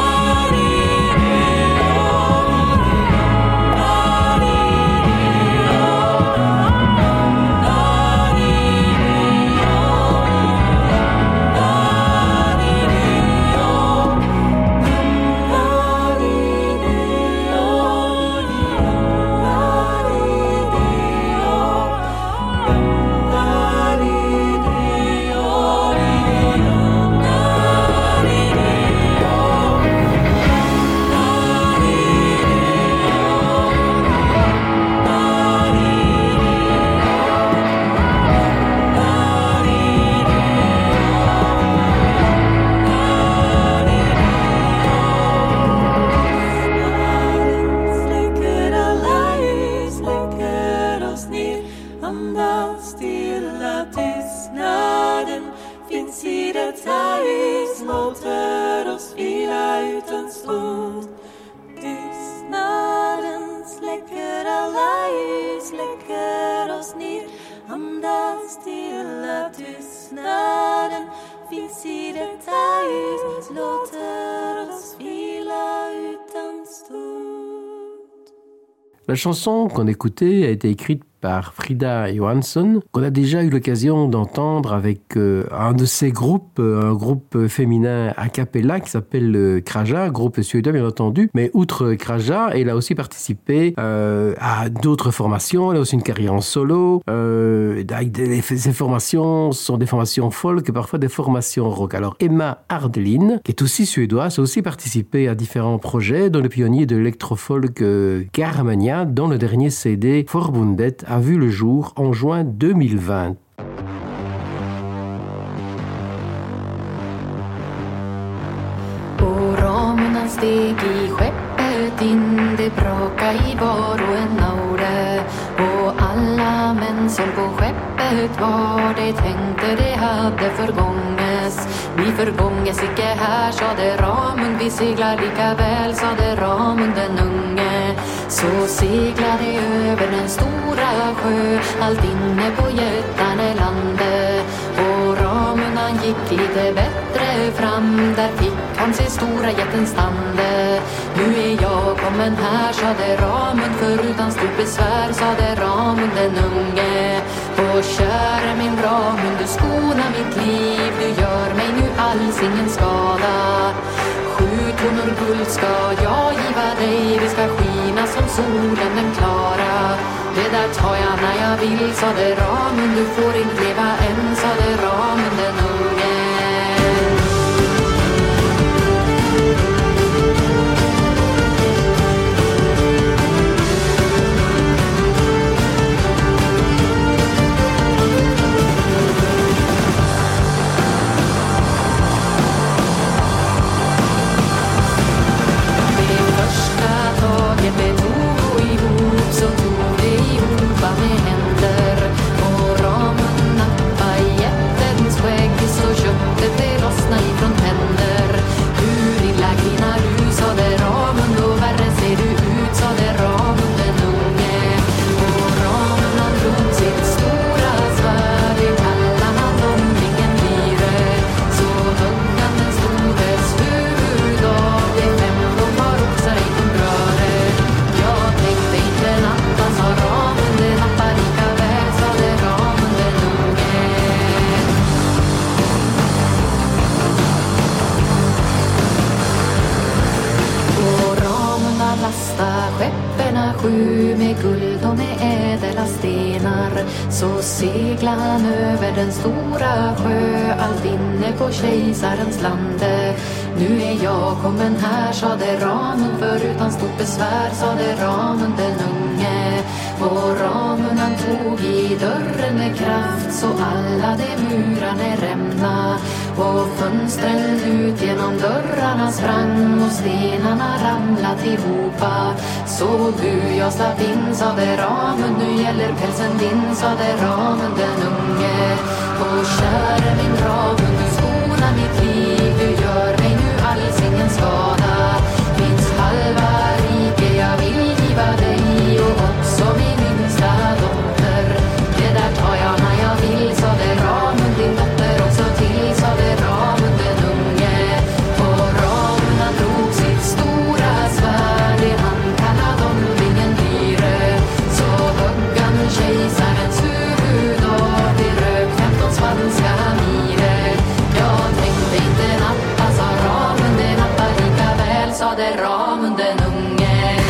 S11: Släcker alla ljus, släcker oss ner, andas stilla, tystnaden finns i detta hus, låter oss vila ut en stund. Tystnaden släcker alla ljus, släcker oss ner, andas stilla, tystnaden finns i detta hus, låter oss vila ut en stund.
S1: La chanson qu'on écoutait a été écrite par Frida Johansson, qu'on a déjà eu l'occasion d'entendre avec euh, un de ces groupes, euh, un groupe féminin a cappella qui s'appelle euh, Kraja, groupe suédois bien entendu. Mais outre Kraja, elle a aussi participé euh, à d'autres formations. Elle a aussi une carrière en solo. Euh, avec des, ces formations sont des formations folk et parfois des formations rock. Alors Emma Ardelin, qui est aussi suédoise, a aussi participé à différents projets, dont le pionnier de l'électrofolk euh, Garmania, dont le dernier C D Forbundet a vu le jour en juin deux mille vingt.
S12: Och ramen steg i skeppet in, det braka i var och en aure. Och alla män som på skeppet var, det tänkte det hade förgånges. Vi förgånges icke här, sa det Ramund, vi seglar lika väl, sa det Ramund den unge. Så seglade över den stora sjö, allt inne på Götanelandet. Och Ramund han gick lite bättre fram, där fick han se stora jätten stande. Nu är jag kommen här, sa det Ramund, för utan stort besvär, sa det Ramund den unge. Och käre min Ramund, du skonar mitt liv, du gör mig nu alls ingen skada. Sju tonor guld ska jag giva dig, vi ska skina som solen den klara. där tar jag när jag vill, sa det ramen. Du får inte leva än, sa det ramen den unge. Så segla han över den stora sjö, allt inne på kejsarens lande. Nu är jag kommen här, sa det ramen, för utan stort besvär, sa det ramen den unge. Och ramen han tog i dörren med kraft, så alla de murarna rämna. Och fönstren ut genom dörrarna sprang, och stenarna ramlat ihopa. Så bu jag slapp in, sa det ramen, nu gäller pälsen din, sa det ramen den unge. Och käre min ramen, du skonar mitt liv, du gör mig nu alls ingen skada. Finns halva rike jag vill giva dig, och också min yngsta dotter. Det där tar jag när jag vill, sa det ramen, din dotter också till, sa det ramen den unge. Och ramen han drog sitt stora svärd, det han kallade om ringen dyre. Så högg han kejsarens huvud av, det rök femton spanska mire. Jag tänkte inte nappa, sa ramen, det nappar lika väl, sa det ramen den unge.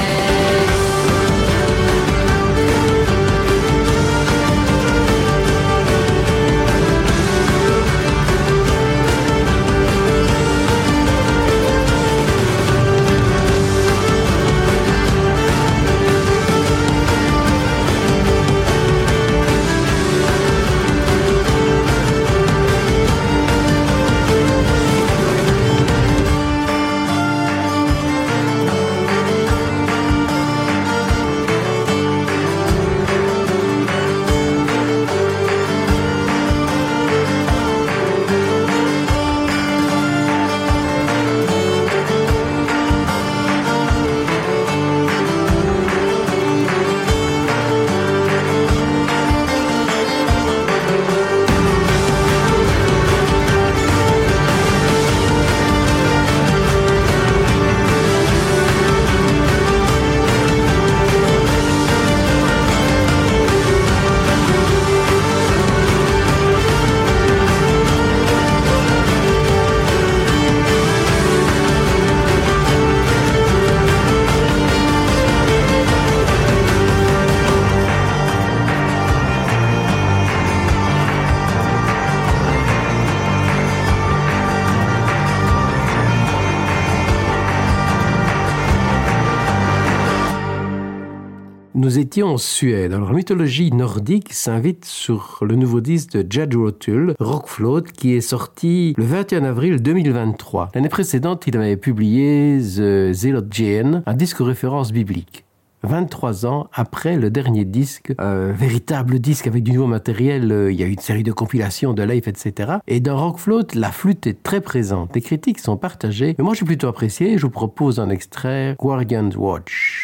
S1: Nous étions en Suède. Alors, la mythologie nordique s'invite sur le nouveau disque de Jethro Tull, Rockfloat, qui est sorti le vingt et un avril deux mille vingt-trois. L'année précédente, il avait publié The Zealot Jane, un disque référence biblique. vingt-trois ans après le dernier disque, euh, véritable disque avec du nouveau matériel, euh, il y a eu une série de compilations, de live, et cetera. Et dans Rockfloat, la flûte est très présente. Les critiques sont partagées, mais moi j'ai plutôt apprécié. Je vous propose un extrait, Guardian's Watch.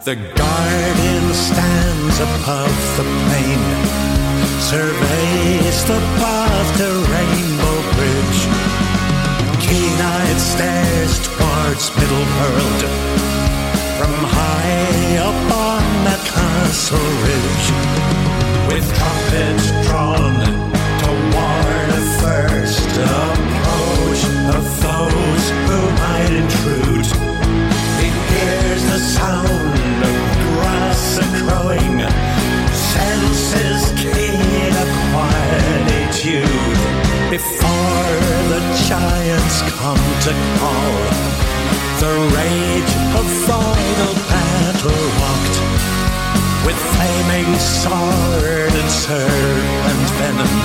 S7: The guardian stands above the plain, surveys the path to Rainbow Bridge. Keen-eyed stares towards Middle-earth from high up on that castle ridge. With trumpets drawn to warn a first approach of those who might intrude, he hears the sound of grass a-crowing, senses keen a quietude. Before the giants come to call, the rage of final battle walked, with flaming sword and serpent venom,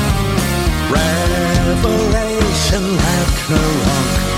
S7: revelation Ragnarok.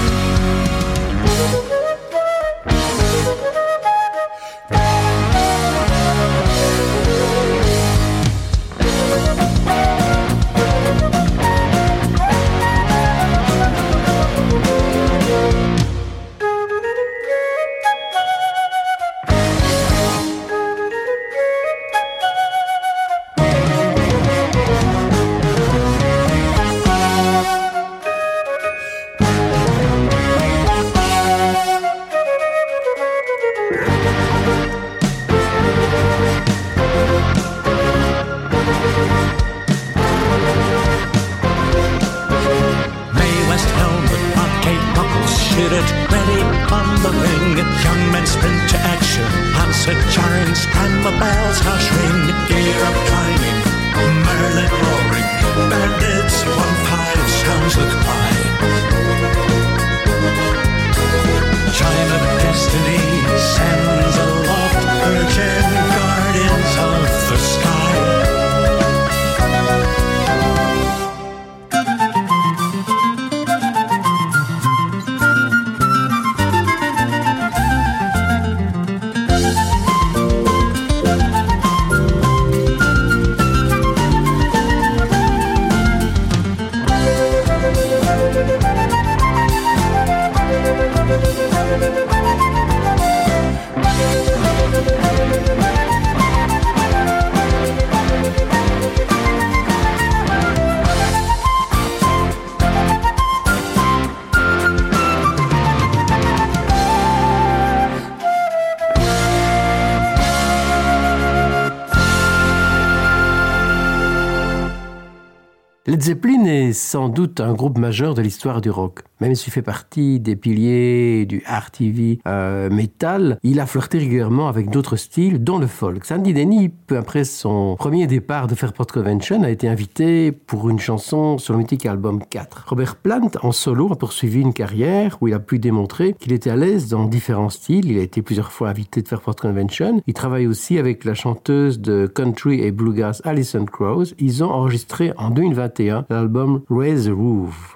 S1: Led Zeppelin est sans doute un groupe majeur de l'histoire du rock. Même s'il fait partie des piliers du R T V euh, metal, il a flirté régulièrement avec d'autres styles, dont le folk. Sandy Denny, peu après son premier départ de Fairport Convention, a été invité pour une chanson sur le mythique album quatre. Robert Plant, en solo, a poursuivi une carrière où il a pu démontrer qu'il était à l'aise dans différents styles. Il a été plusieurs fois invité de Fairport Convention. Il travaille aussi avec la chanteuse de country et bluegrass Alison Krauss. Ils ont enregistré en deux mille vingt et un l'album Raise the Roof.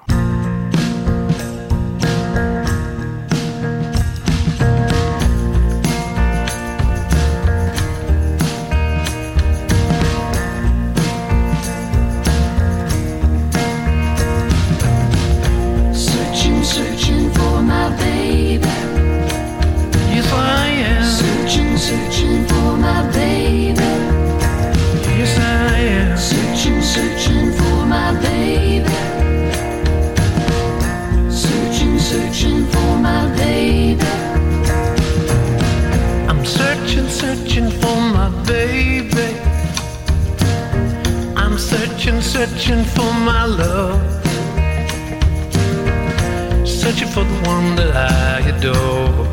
S13: Searching for my love, searching for the one that I adore.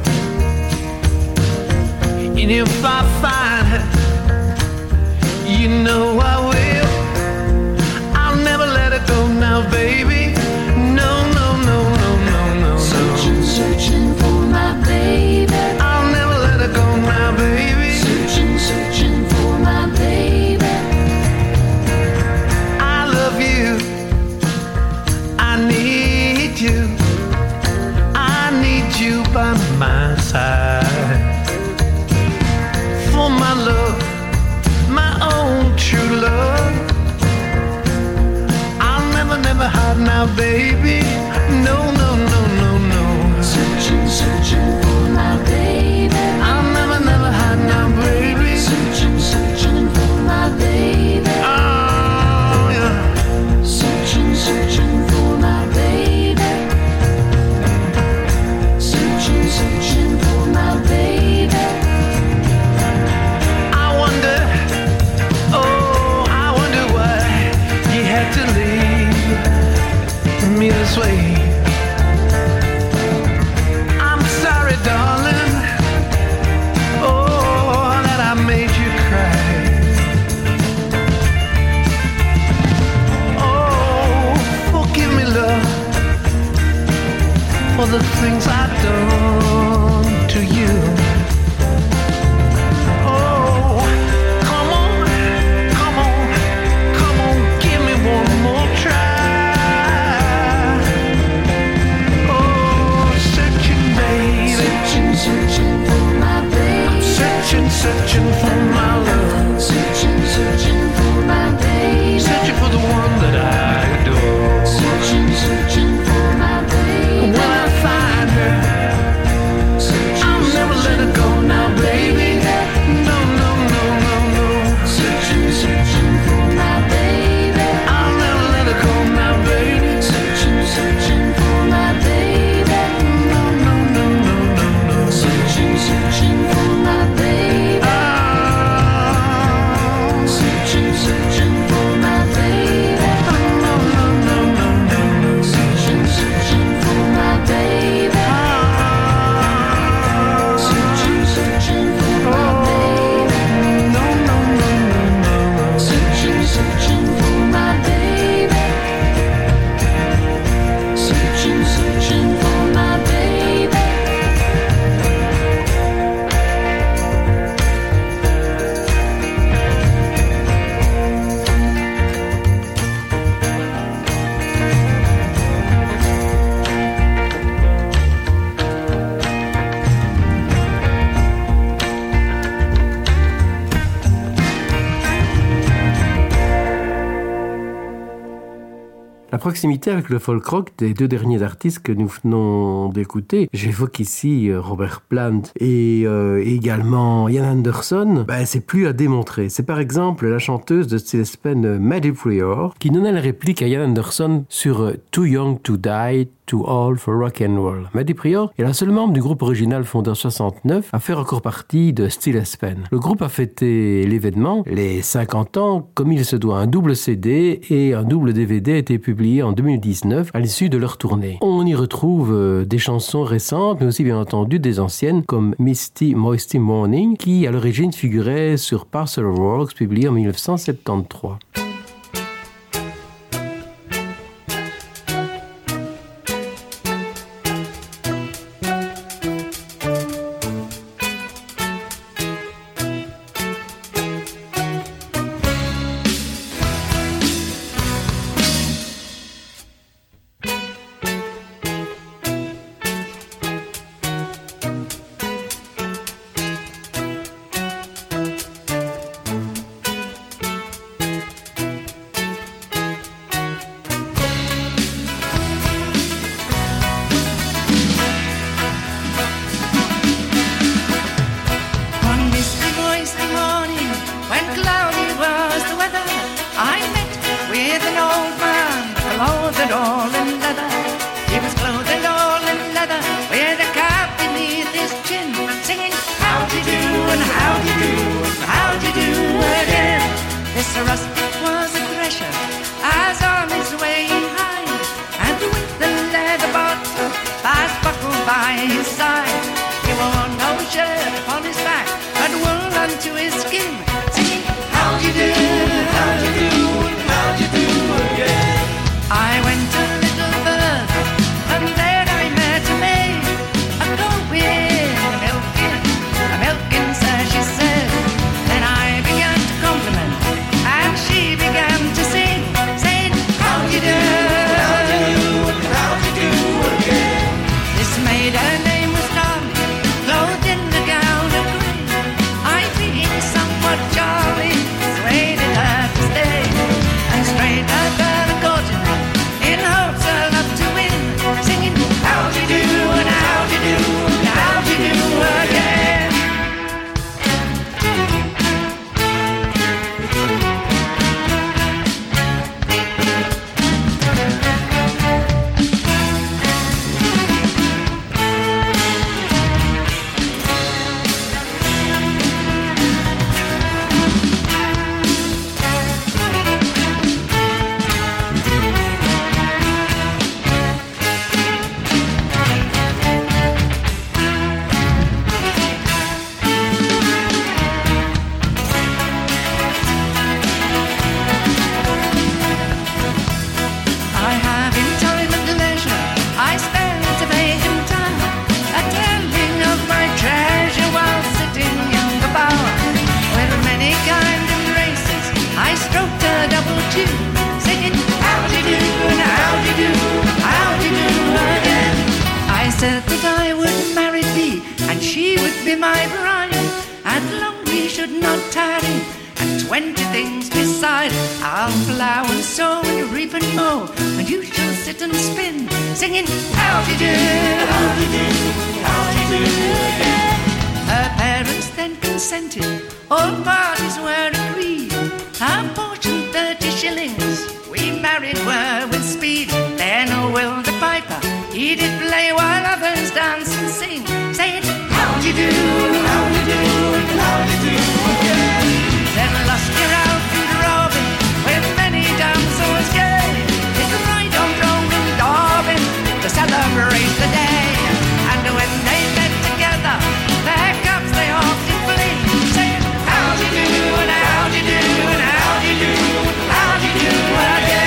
S13: And if I find her, you know I will. I'll never let her go now, baby. No, no, no, no, no, no, no.
S2: Searching, searching for my baby.
S13: I'll never let her go now, baby.
S2: Searching, searching for my baby.
S13: I need you, I need you by my side. For my love, my own true love. I'll never, never hide now, baby. No, no, no, no, no.
S2: Searching, searching for my baby.
S13: I'll never, never hide now, for the things I've done to you. Oh, come on, come on, come on, give me one more try. Oh, searching, baby,
S12: Searching, searching for my baby.
S13: I'm searching, searching for my love.
S12: Searching, searching for my baby.
S13: Searching for the one that I adore.
S12: Searching, searching for my baby.
S13: When I find her, I'll never let her go now, baby. No, no, no, no, no.
S12: Searching, searching for my baby.
S13: I'll never let her go now, baby.
S12: Searching, searching for my baby.
S13: No, no, no, no, no, no.
S12: Searching, searching for my baby.
S13: Ah.
S12: Searching, searching for my baby.
S13: No, no, no, no, no, no.
S12: Searching, searching for my baby. Searching, searching for my baby.
S13: No, no, no, no, no, no.
S12: Searching, searching for my baby. Searching, searching for my baby.
S1: La proximité avec le folk rock des deux derniers artistes que nous venons d'écouter, j'évoque ici euh, Robert Plant et euh, également Ian Anderson, ben, c'est plus à démontrer. C'est par exemple la chanteuse de Still Spen, Maddie Prior, qui donnait la réplique à Ian Anderson sur euh, Too Young to Die, Too Old for Rock and Roll. Maddie Prior est la seule membre du groupe original fondé en soixante-neuf à faire encore partie de Still Spen. Le groupe a fêté l'événement, les cinquante ans, comme il se doit. Un double C D et un double D V D a été publié en deux mille dix-neuf à l'issue de leur tournée. On y retrouve euh, des chansons récentes, mais aussi bien entendu des anciennes comme Misty Moisty Morning, qui à l'origine figurait sur Parcel of Works, publié en mille neuf cent soixante-treize.
S12: This made her name
S14: not tarry, and twenty things beside. I'll plough and sow and reap and mow, and you shall sit and spin, singing how-de-do, how-de-do, how-de-do, yeah. Her parents then consented, all parties were agreed. Our portion thirty shillings, we married were with speed. Then oh Will the piper, he did play while others dance and sing, saying how-de-do, how-de-do, how-de-do, yeah. Then lusty Ralph and Robin, with many damsels gay, did ride on Drone and Darwin to celebrate the day. And when they met together, their cups they often fling, saying how-de-do, and how-de-do, and how-de-do, how-de-do again.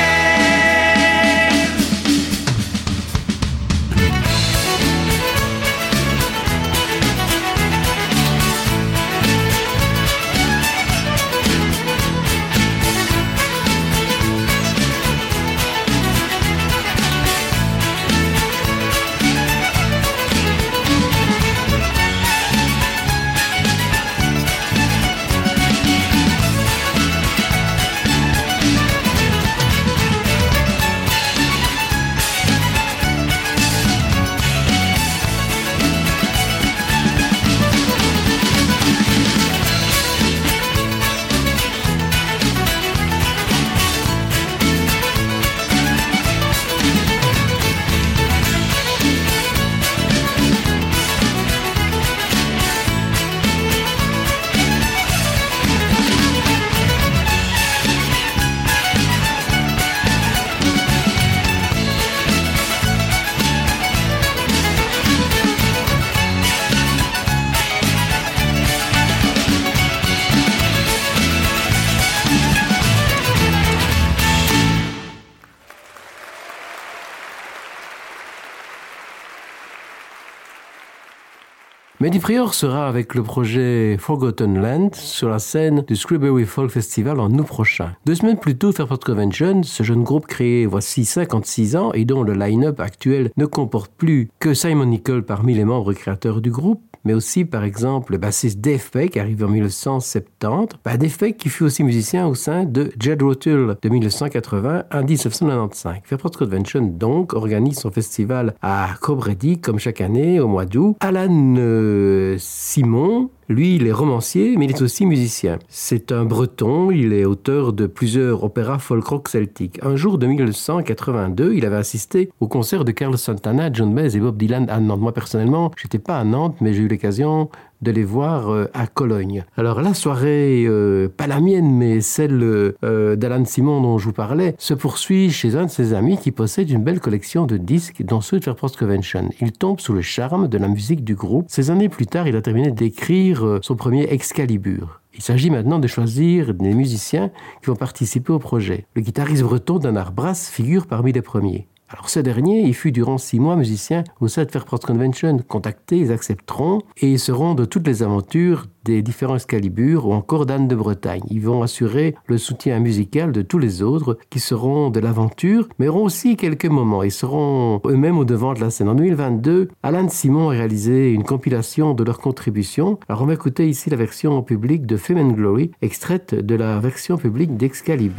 S1: Mehdi Prior sera avec le projet Forgotten Land sur la scène du Scribbery Folk Festival en août prochain. Deux semaines plus tôt, Fairport Convention, ce jeune groupe créé voici cinquante-six ans et dont le line-up actuel ne comporte plus que Simon Nicol parmi les membres créateurs du groupe, mais aussi par exemple le bassiste Dave Peck, arrivé en dix-neuf cent soixante-dix. Bah, Dave Peck qui fut aussi musicien au sein de Jethro Tull de dix-neuf cent quatre-vingts à dix-neuf cent quatre-vingt-quinze. Fairport Convention donc organise son festival à Cobretti comme chaque année au mois d'août. Alan euh, Simon, lui, il est romancier, mais il est aussi musicien. C'est un breton, il est auteur de plusieurs opéras folk-rock celtiques. Un jour de dix-neuf cent quatre-vingt-deux, il avait assisté au concert de Carlos Santana, John Baez et Bob Dylan à Nantes. Moi, personnellement, j'étais pas à Nantes, mais j'ai eu l'occasion de les voir euh, à Cologne. Alors la soirée, euh, pas la mienne, mais celle euh, d'Alan Simon dont je vous parlais, se poursuit chez un de ses amis qui possède une belle collection de disques, dont ceux de Fairport Convention. Il tombe sous le charme de la musique du groupe. Ces années plus tard, il a terminé d'écrire euh, son premier Excalibur. Il s'agit maintenant de choisir des musiciens qui vont participer au projet. Le guitariste breton Danar Brass figure parmi les premiers. Alors ce dernier, il fut durant six mois musicien au sein de Fairport Convention. Contactés, ils accepteront et ils seront de toutes les aventures des différents Excalibur ou encore d'Anne de Bretagne. Ils vont assurer le soutien musical de tous les autres qui seront de l'aventure, mais auront aussi quelques moments. Ils seront eux-mêmes au devant de la scène. En deux mille vingt-deux, Alan Simon a réalisé une compilation de leurs contributions. Alors on va écouter ici la version publique de Fame and Glory, extraite de la version publique d'Excalibur.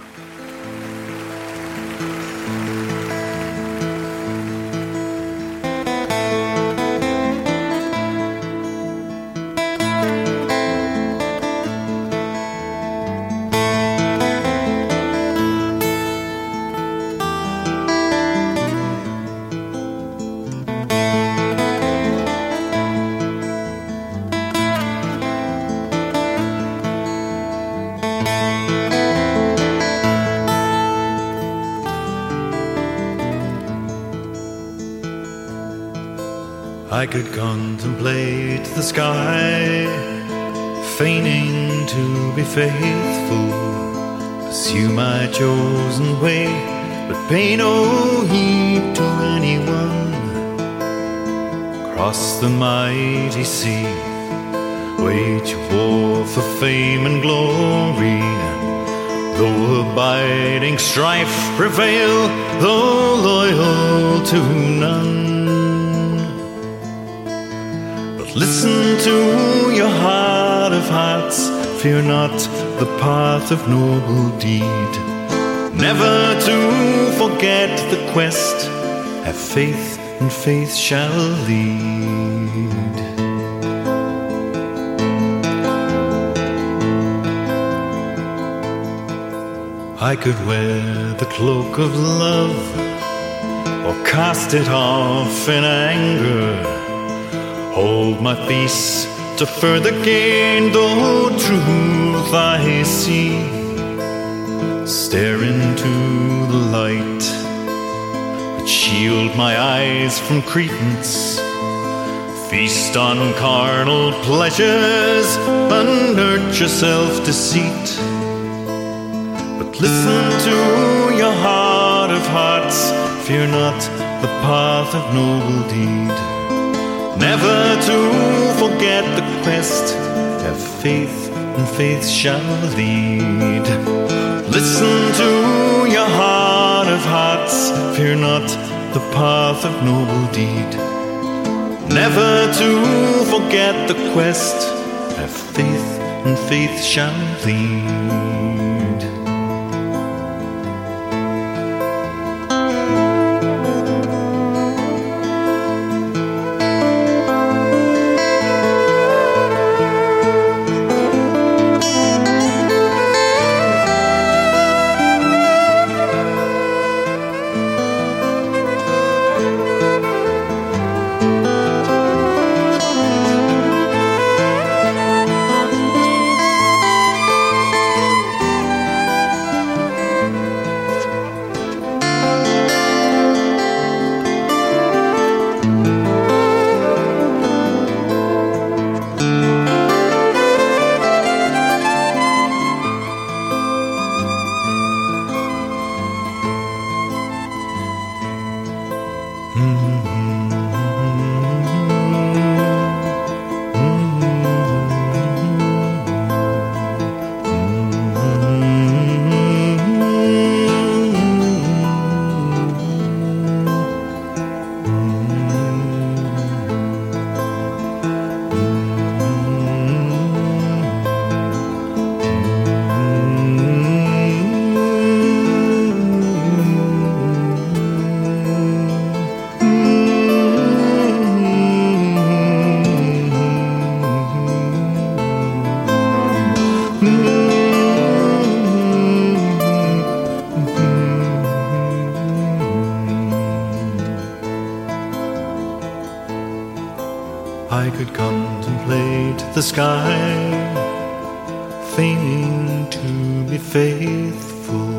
S7: I could contemplate the sky, feigning to be faithful, pursue my chosen way, but pay no heed to anyone. Cross the mighty sea, wage war for fame and glory, though abiding strife prevail, though loyal to none. Listen to your heart of hearts,
S15: fear not the path of noble deed. Never to forget the quest, have faith and faith shall lead. I could wear the cloak of love, or cast it off in anger, hold my peace to further gain, though truth I see, stare into the light, but shield my eyes from credence, feast on carnal pleasures, and nurture self-deceit. But listen to your heart of hearts, fear not the path of noble deed. Never to forget the quest, have faith and faith shall lead. Listen to your heart of hearts, fear not the path of noble deed. Never to forget the quest, have faith and faith shall lead. I could contemplate the sky, feigning to be faithful.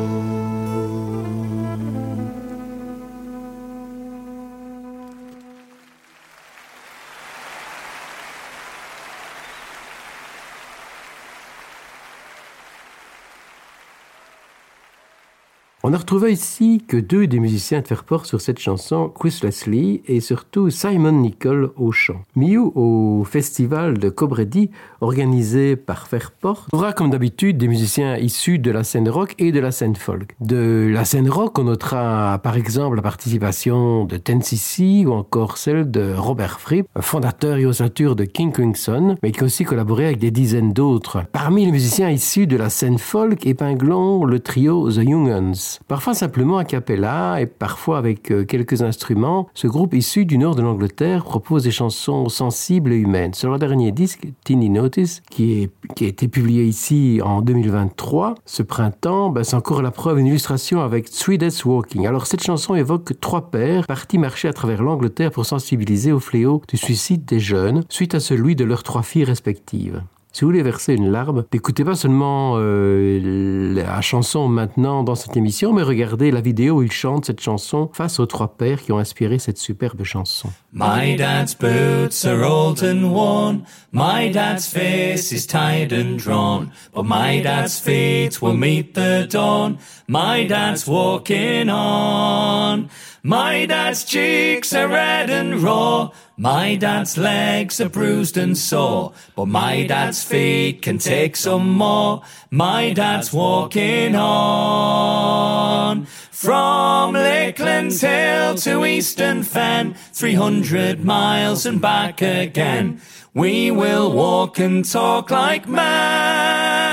S1: On a retrouvé ici que deux des musiciens de Fairport sur cette chanson, Chris Leslie et surtout Simon Nicol au chant. Miu, au festival de Cobretti, organisé par Fairport, aura comme d'habitude des musiciens issus de la scène rock et de la scène folk. De la scène rock, on notera par exemple la participation de ten C C ou encore celle de Robert Fripp, fondateur et ossature de King Crimson, mais qui a aussi collaboré avec des dizaines d'autres. Parmi les musiciens issus de la scène folk, épinglons le trio The Young Uns. Parfois simplement a cappella et parfois avec euh, quelques instruments, ce groupe issu du nord de l'Angleterre propose des chansons sensibles et humaines. Sur leur dernier disque, Teeny Notice, qui, est, qui a été publié ici en deux mille vingt-trois, ce printemps, ben, c'est encore la preuve, une illustration avec Three Days Walking. Alors cette chanson évoque trois pères partis marcher à travers l'Angleterre pour sensibiliser au fléau du suicide des jeunes suite à celui de leurs trois filles respectives. Si vous voulez verser une larme, n'écoutez pas seulement euh, la chanson maintenant dans cette émission, mais regardez la vidéo où il chante cette chanson face aux trois pères qui ont inspiré cette superbe chanson.
S16: My dad's boots are old and worn, my dad's face is tired and drawn, but my dad's feet will meet the dawn, my dad's walking on. My dad's cheeks are red and raw, my dad's legs are bruised and sore, but my dad's feet can take some more, my dad's walking on. From Lakeland's Hill to Eastern Fen, three hundred miles and back again, we will walk and talk like men.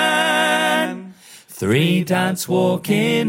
S16: three dads walking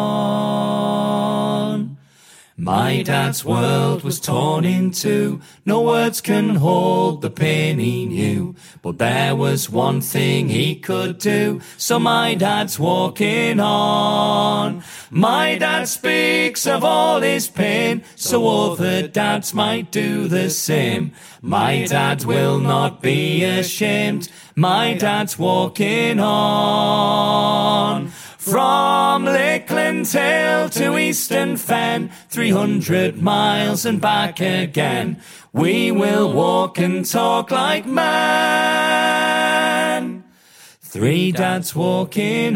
S16: on. My dad's world was torn in two, no words can hold the pain he knew, but there was one thing he could do, so my dad's walking on. My dad speaks of all his pain, so other dads might do the same. My dad will not be ashamed, my dad's walking on. From Lakeland Hill to Eastern Fen, three hundred miles and back again, we will walk and talk like men. Three dads walking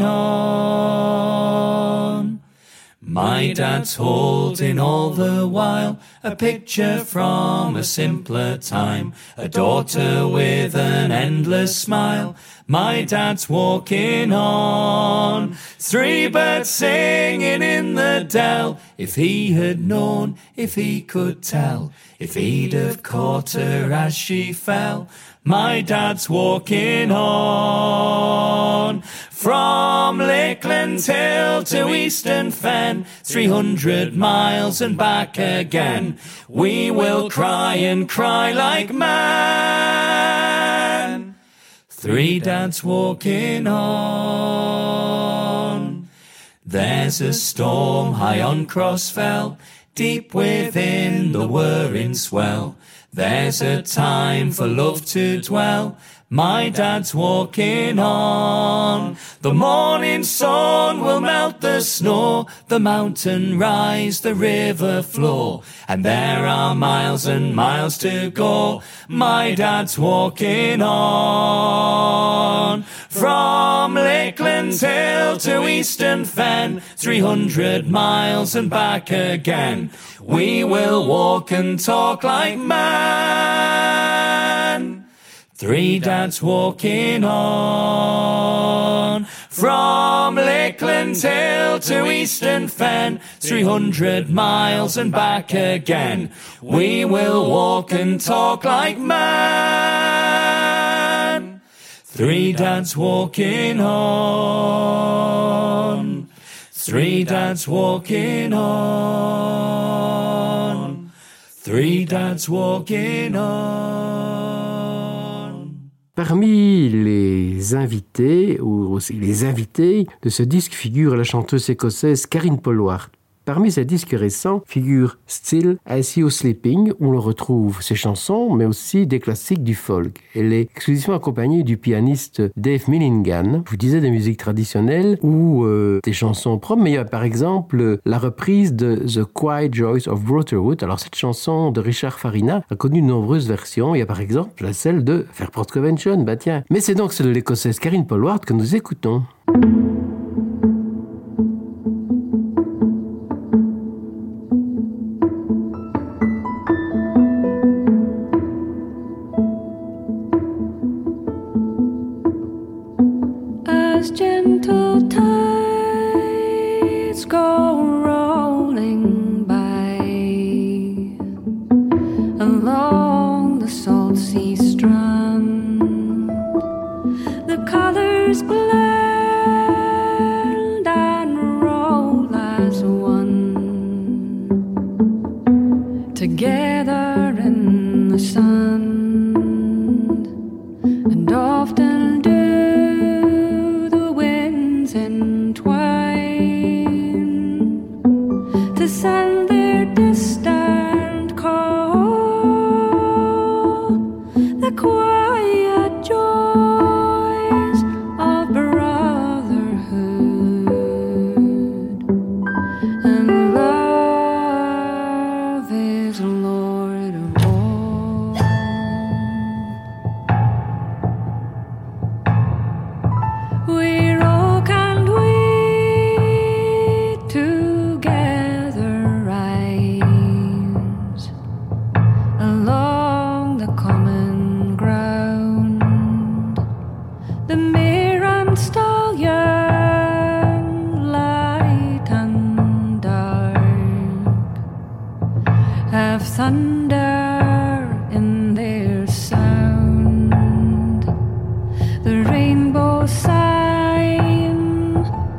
S16: on. My dad's holding all the while a picture from a simpler time, a daughter with an endless smile. My dad's walking on. Three birds singing in the dell. If he had known, if he could tell, if he'd have caught her as she fell. My dad's walking on. From Lakeland Hill to Eastern Fen, three hundred miles and back again, we will cry and cry like men. Three dads walking on. There's a storm high on Crossfell, deep within the whirring swell. There's a time for love to dwell. My dad's walking on. The morning sun will melt the snow, the mountain rise, the river flow, and there are miles and miles to go. My dad's walking on. From Lakeland Hill to Eastern Fen, three hundred miles and back again, we will walk and talk like men. Three dads walking on. From Lakeland Hill to Eastern Fen, three hundred miles and back again, we will walk and talk like men. Three dads walking on. Three dads walking on. Three dads walking on.
S1: Parmi les invités, ou aussi les invités de ce disque figure la chanteuse écossaise Karine Polwart. Parmi ses disques récents figure Still I See You Sleeping, où l'on retrouve ses chansons, mais aussi des classiques du folk. Elle est exclusivement accompagnée du pianiste Dave Millingan. Je vous disais des musiques traditionnelles ou euh, des chansons propres, mais il y a par exemple la reprise de The Quiet Joys of Brotherhood. Alors cette chanson de Richard Farina a connu de nombreuses versions. Il y a par exemple celle de Fairport Convention, bah tiens. Mais c'est donc celle de l'écossaise Karine Polwart que nous écoutons.
S2: As gentle tides go rolling by along the salt sea strand, the colors blend and roll as one, together in the sand, and often do to send their distant call, the quiet joys of brotherhood, and love is Lord of all. We're oak and we together rise along the common ground. The mare and stallion, light and dark, have thunder in their sound. The rainbow sign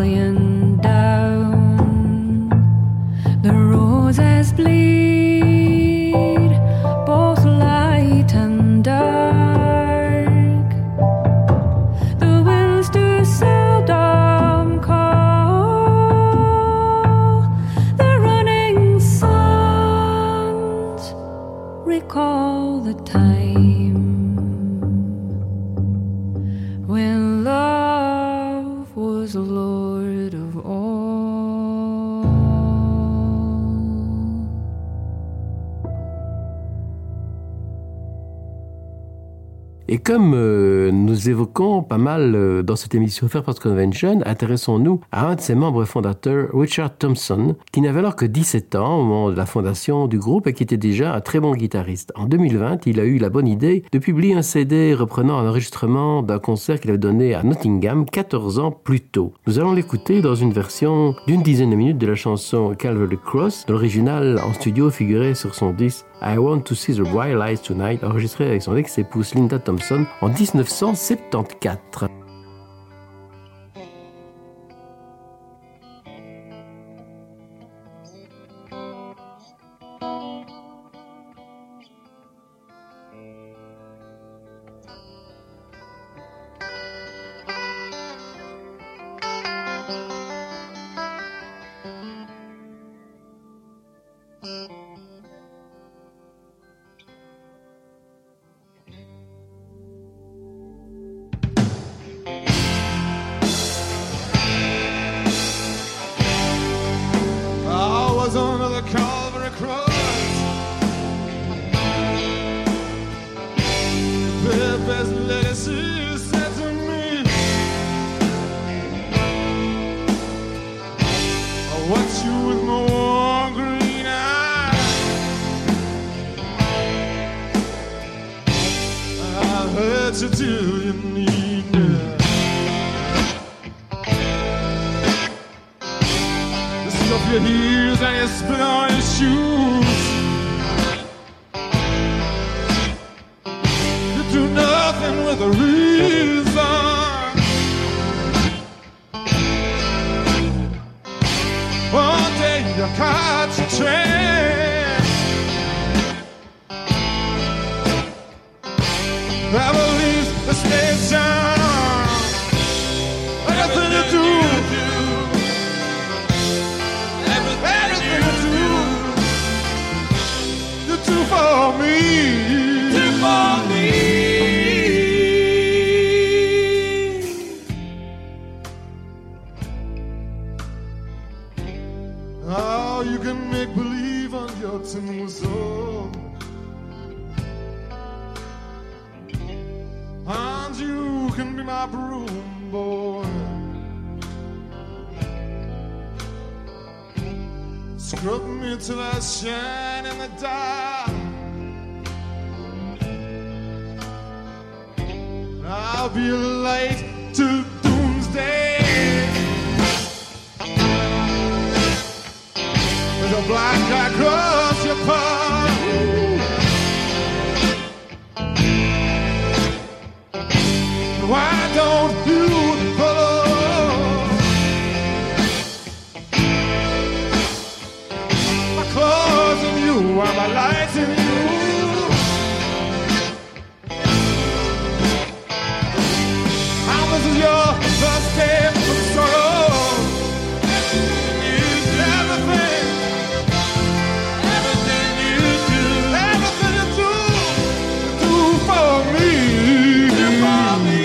S2: lying down. The roses bleed, both light and dark. The winds do seldom call. The running sands recall the time when love was Lord of all.
S1: Et comme euh, nous évoquons pas mal euh, dans cette émission Fairport Convention, intéressons-nous à un de ses membres fondateurs, Richard Thompson, qui n'avait alors que dix-sept ans au moment de la fondation du groupe et qui était déjà un très bon guitariste. En deux mille vingt, il a eu la bonne idée de publier un C D reprenant un enregistrement d'un concert qu'il avait donné à Nottingham quatorze ans plus tôt. Nous allons l'écouter dans une version d'une dizaine de minutes de la chanson Calvary Cross. L'original en studio figurait sur son disque I Want to See the Bright Lights Tonight, enregistré avec son ex-épouse Linda Thompson en dix-neuf cent soixante-quatorze.
S17: Under the Calvary cross, the best legacy said to me, I watch you with my warm green eyes. I've heard you till you need me. Up your heels and you spit on your shoes. You do nothing with a reason. One day you catch a train. Never leaves the station. Everything you do. For me, do for me. Oh, you can make believe on your tombstone, and you can be my broom boy. Scrub me till I shine in the dark. I'll be a light till doomsday. There's a black guy across your path. Why don't you follow? My clothes in you, and my lights in you. This is your first day of sorrow. It's everything, everything you do, everything you do, do for me, do for me.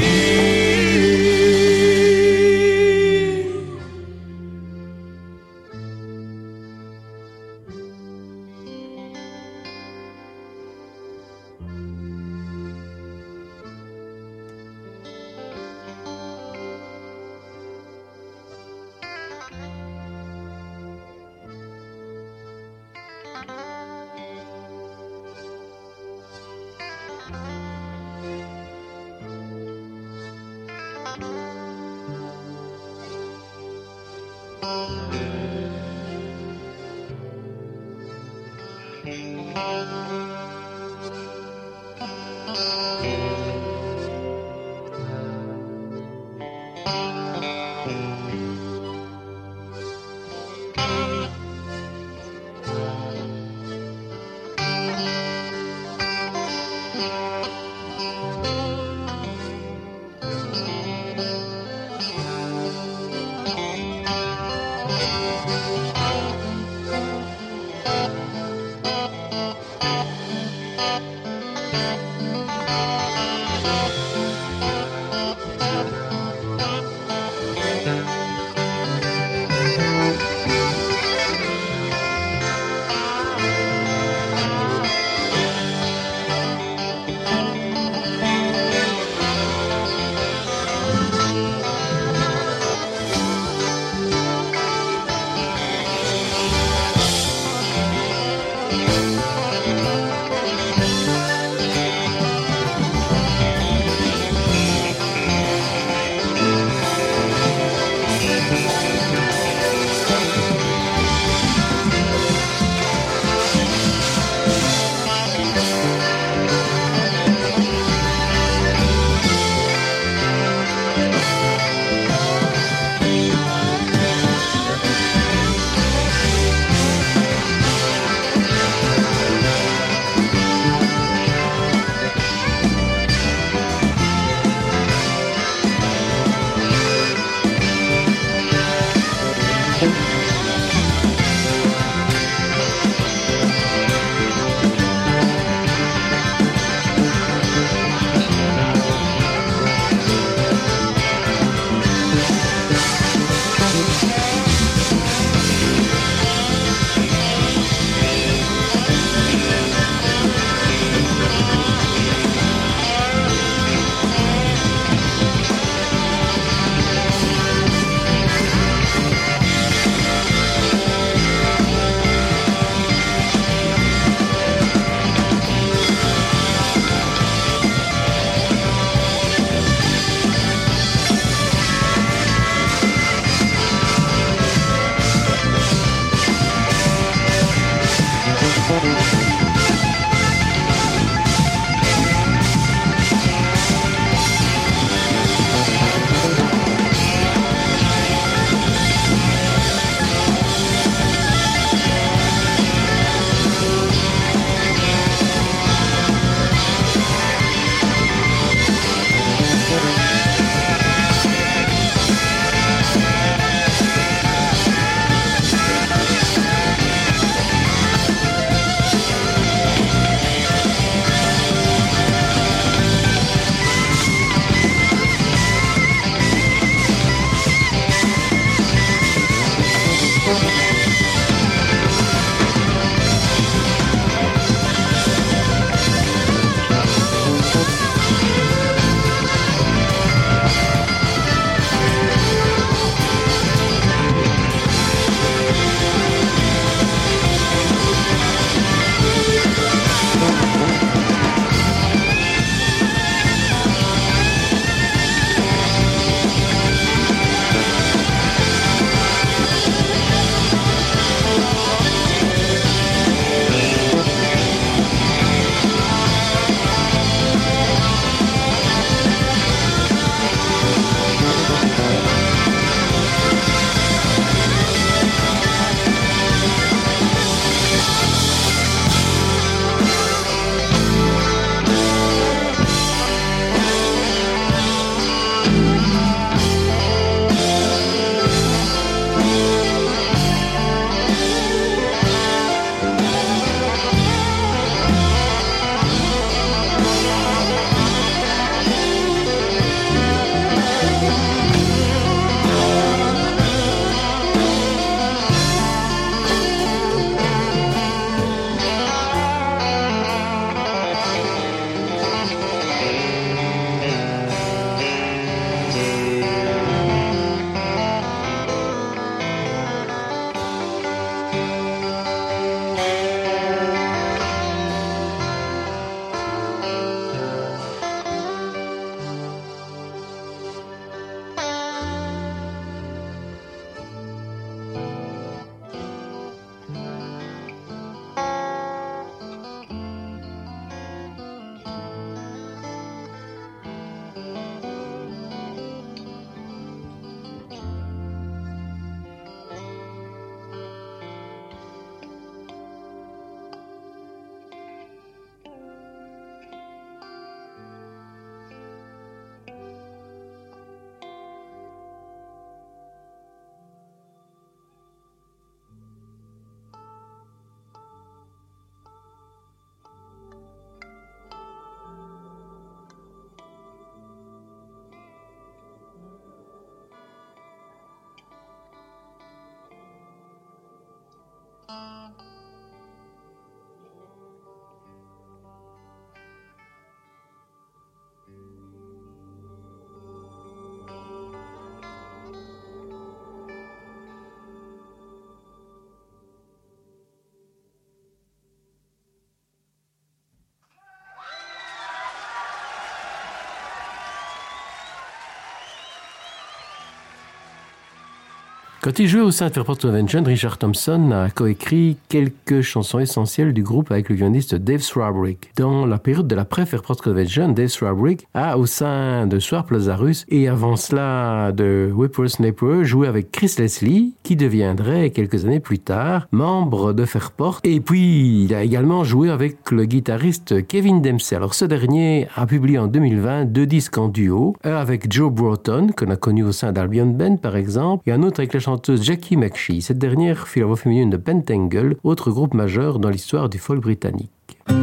S1: Quand il jouait au sein de Fairport Convention, Richard Thompson a coécrit quelques chansons essentielles du groupe avec le violoniste Dave Swarbrick. Dans la période de l'après-Fairport Convention, Dave Swarbrick a, au sein de Swarp Lazarus et avant cela de Whippersnapper, joué avec Chris Leslie, qui deviendrait quelques années plus tard membre de Fairport. Et puis, il a également joué avec le guitariste Kevin Dempsey. Alors, ce dernier a publié en deux mille vingt deux disques en duo, un avec Joe Broughton, qu'on a connu au sein d'Albion Band par exemple, et un autre avec la chanteuse Jackie McShee. Cette dernière fut la voix féminine de Pentangle, autre groupe majeur dans l'histoire du folk britannique.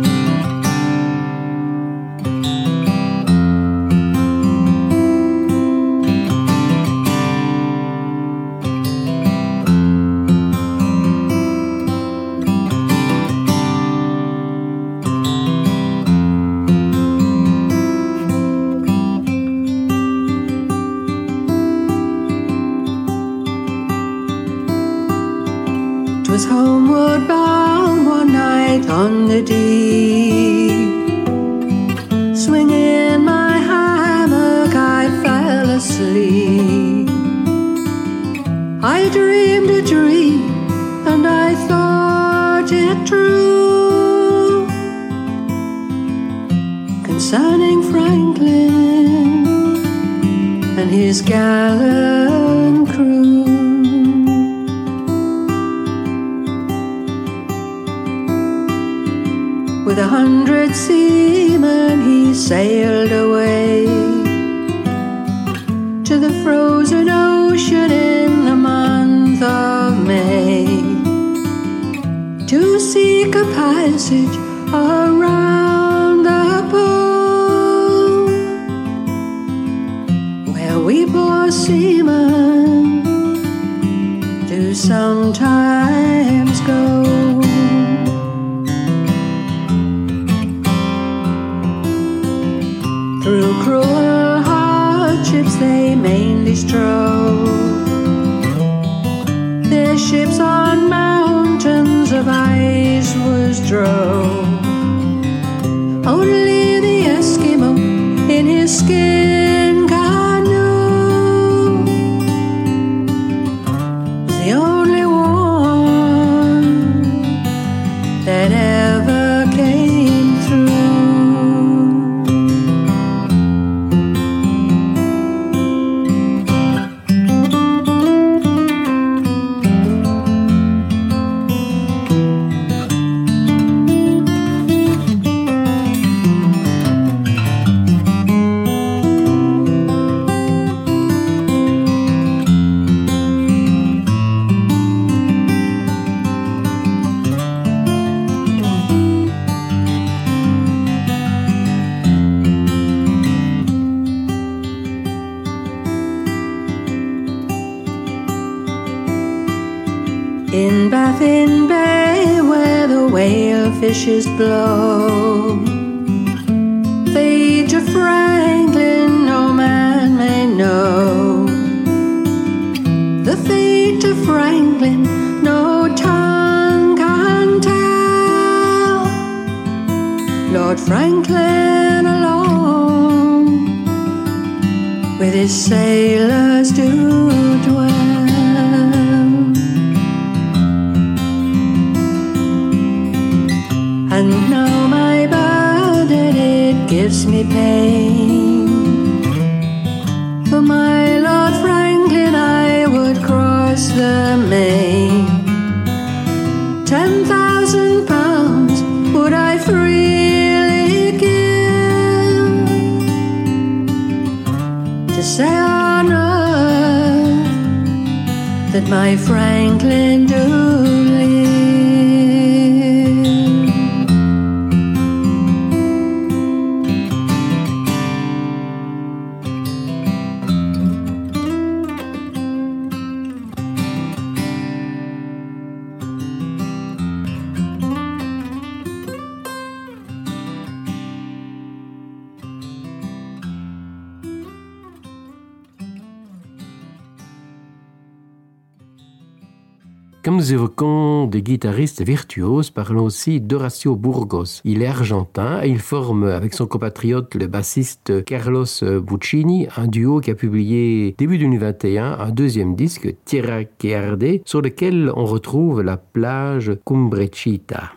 S18: Was homeward bound one night on the deep. Swinging my hammock, I fell asleep. I dreamed a dream, and I thought it true, concerning Franklin and his gallant crew. With a hundred seamen he sailed away to the frozen ocean in the month of May to seek a passage around the pole, where we poor seamen do sometimes go. Through cruel hardships they mainly strove, their ships on mountains of ice was drove. Only the Eskimo in his skin canoe was the only one that ever came through. In Baffin Bay, where the whale fishes blow, fate of Franklin no man may know. The fate of Franklin no tongue can tell. Lord Franklin alone with his sailors do dwell. And now my burden, it gives me pain. For my Lord Franklin I would cross the main. Ten thousand pounds would I freely give to say on earth that my Franklin do live.
S1: Comme nous évoquons des guitaristes virtuoses, parlons aussi d'Horacio Burgos. Il est argentin et il forme avec son compatriote le bassiste Carlos Buccini un duo qui a publié début deux mille vingt et un un deuxième disque, Tierra que Arde, sur lequel on retrouve la plage Cumbrechita.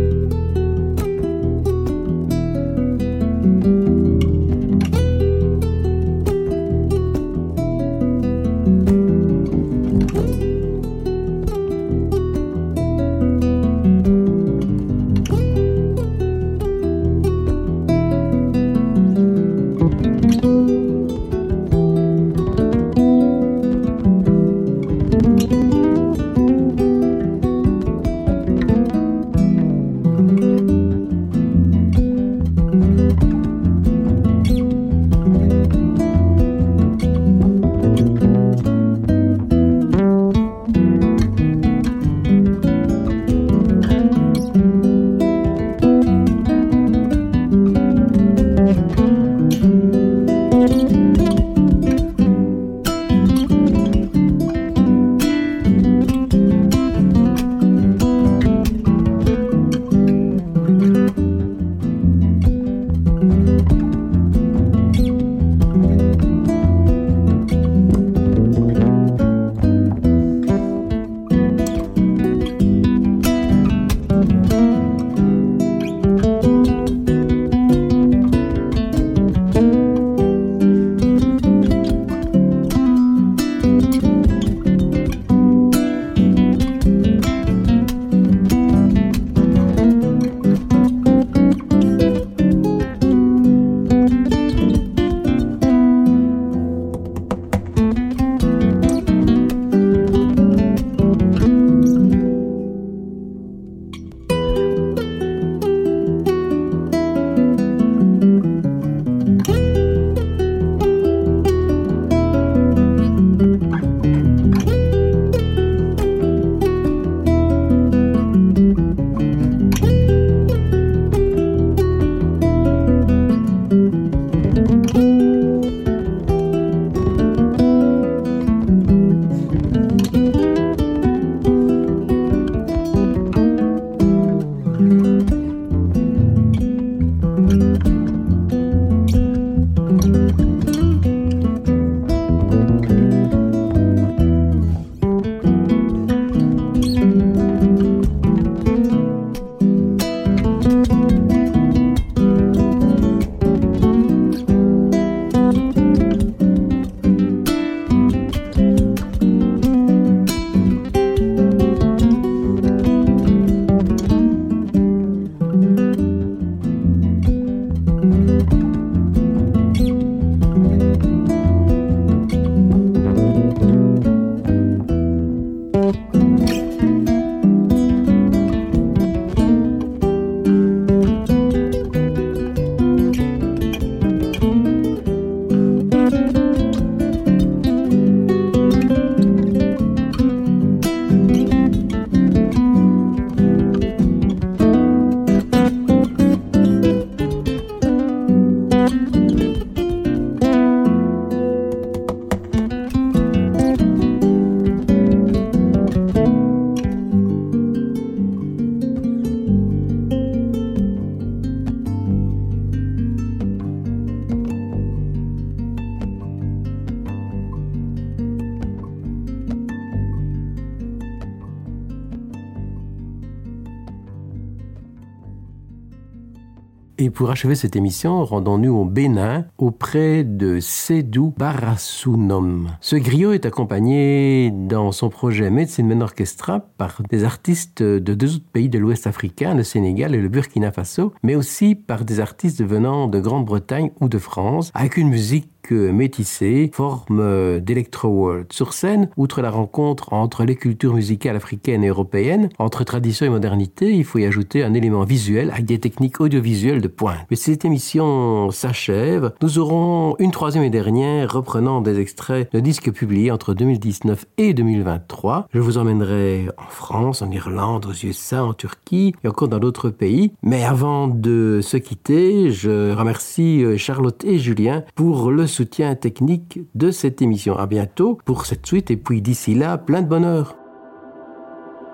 S1: Et pour achever cette émission, rendons-nous au Bénin, auprès de Sédou Barasounom. Ce griot est accompagné dans son projet Medicine Men Orchestra par des artistes de deux autres pays de l'Ouest africain, le Sénégal et le Burkina Faso, mais aussi par des artistes venant de Grande-Bretagne ou de France, avec une musique métissée, forme d'Electro-World. Sur scène, outre la rencontre entre les cultures musicales africaines et européennes, entre tradition et modernité, il faut y ajouter un élément visuel avec des techniques audiovisuelles de pointe. Mais si cette émission s'achève, nous aurons une troisième et dernière reprenant des extraits de disques publiés entre deux mille dix-neuf et deux mille vingt-trois. Je vous emmènerai en France, en Irlande, aux U S A, en Turquie et encore dans d'autres pays. Mais avant de se quitter, je remercie Charlotte et Julien pour le soutien technique de cette émission. À bientôt pour cette suite et puis d'ici là, plein de bonheur.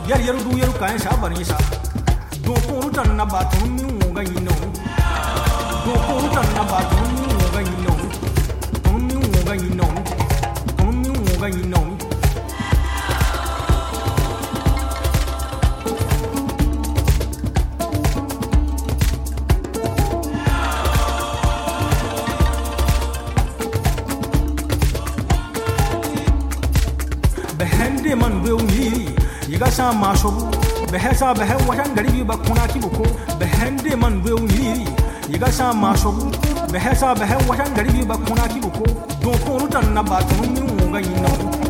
S19: yar yar du yar kan sha bari sha do ko tan na ba tun mi wo ga yino do ko tan na ba tun mi wo ga yino tun mi wo ga yino tun mi wo ga yino behende man be unyi yiga sa mashobu behesa behe watan garibi ba kuna kibuko behende man be unyi yiga sa mashobu behesa behe watan garibi ba kuna kibuko do ko rutan na ba tun mi wo ga yino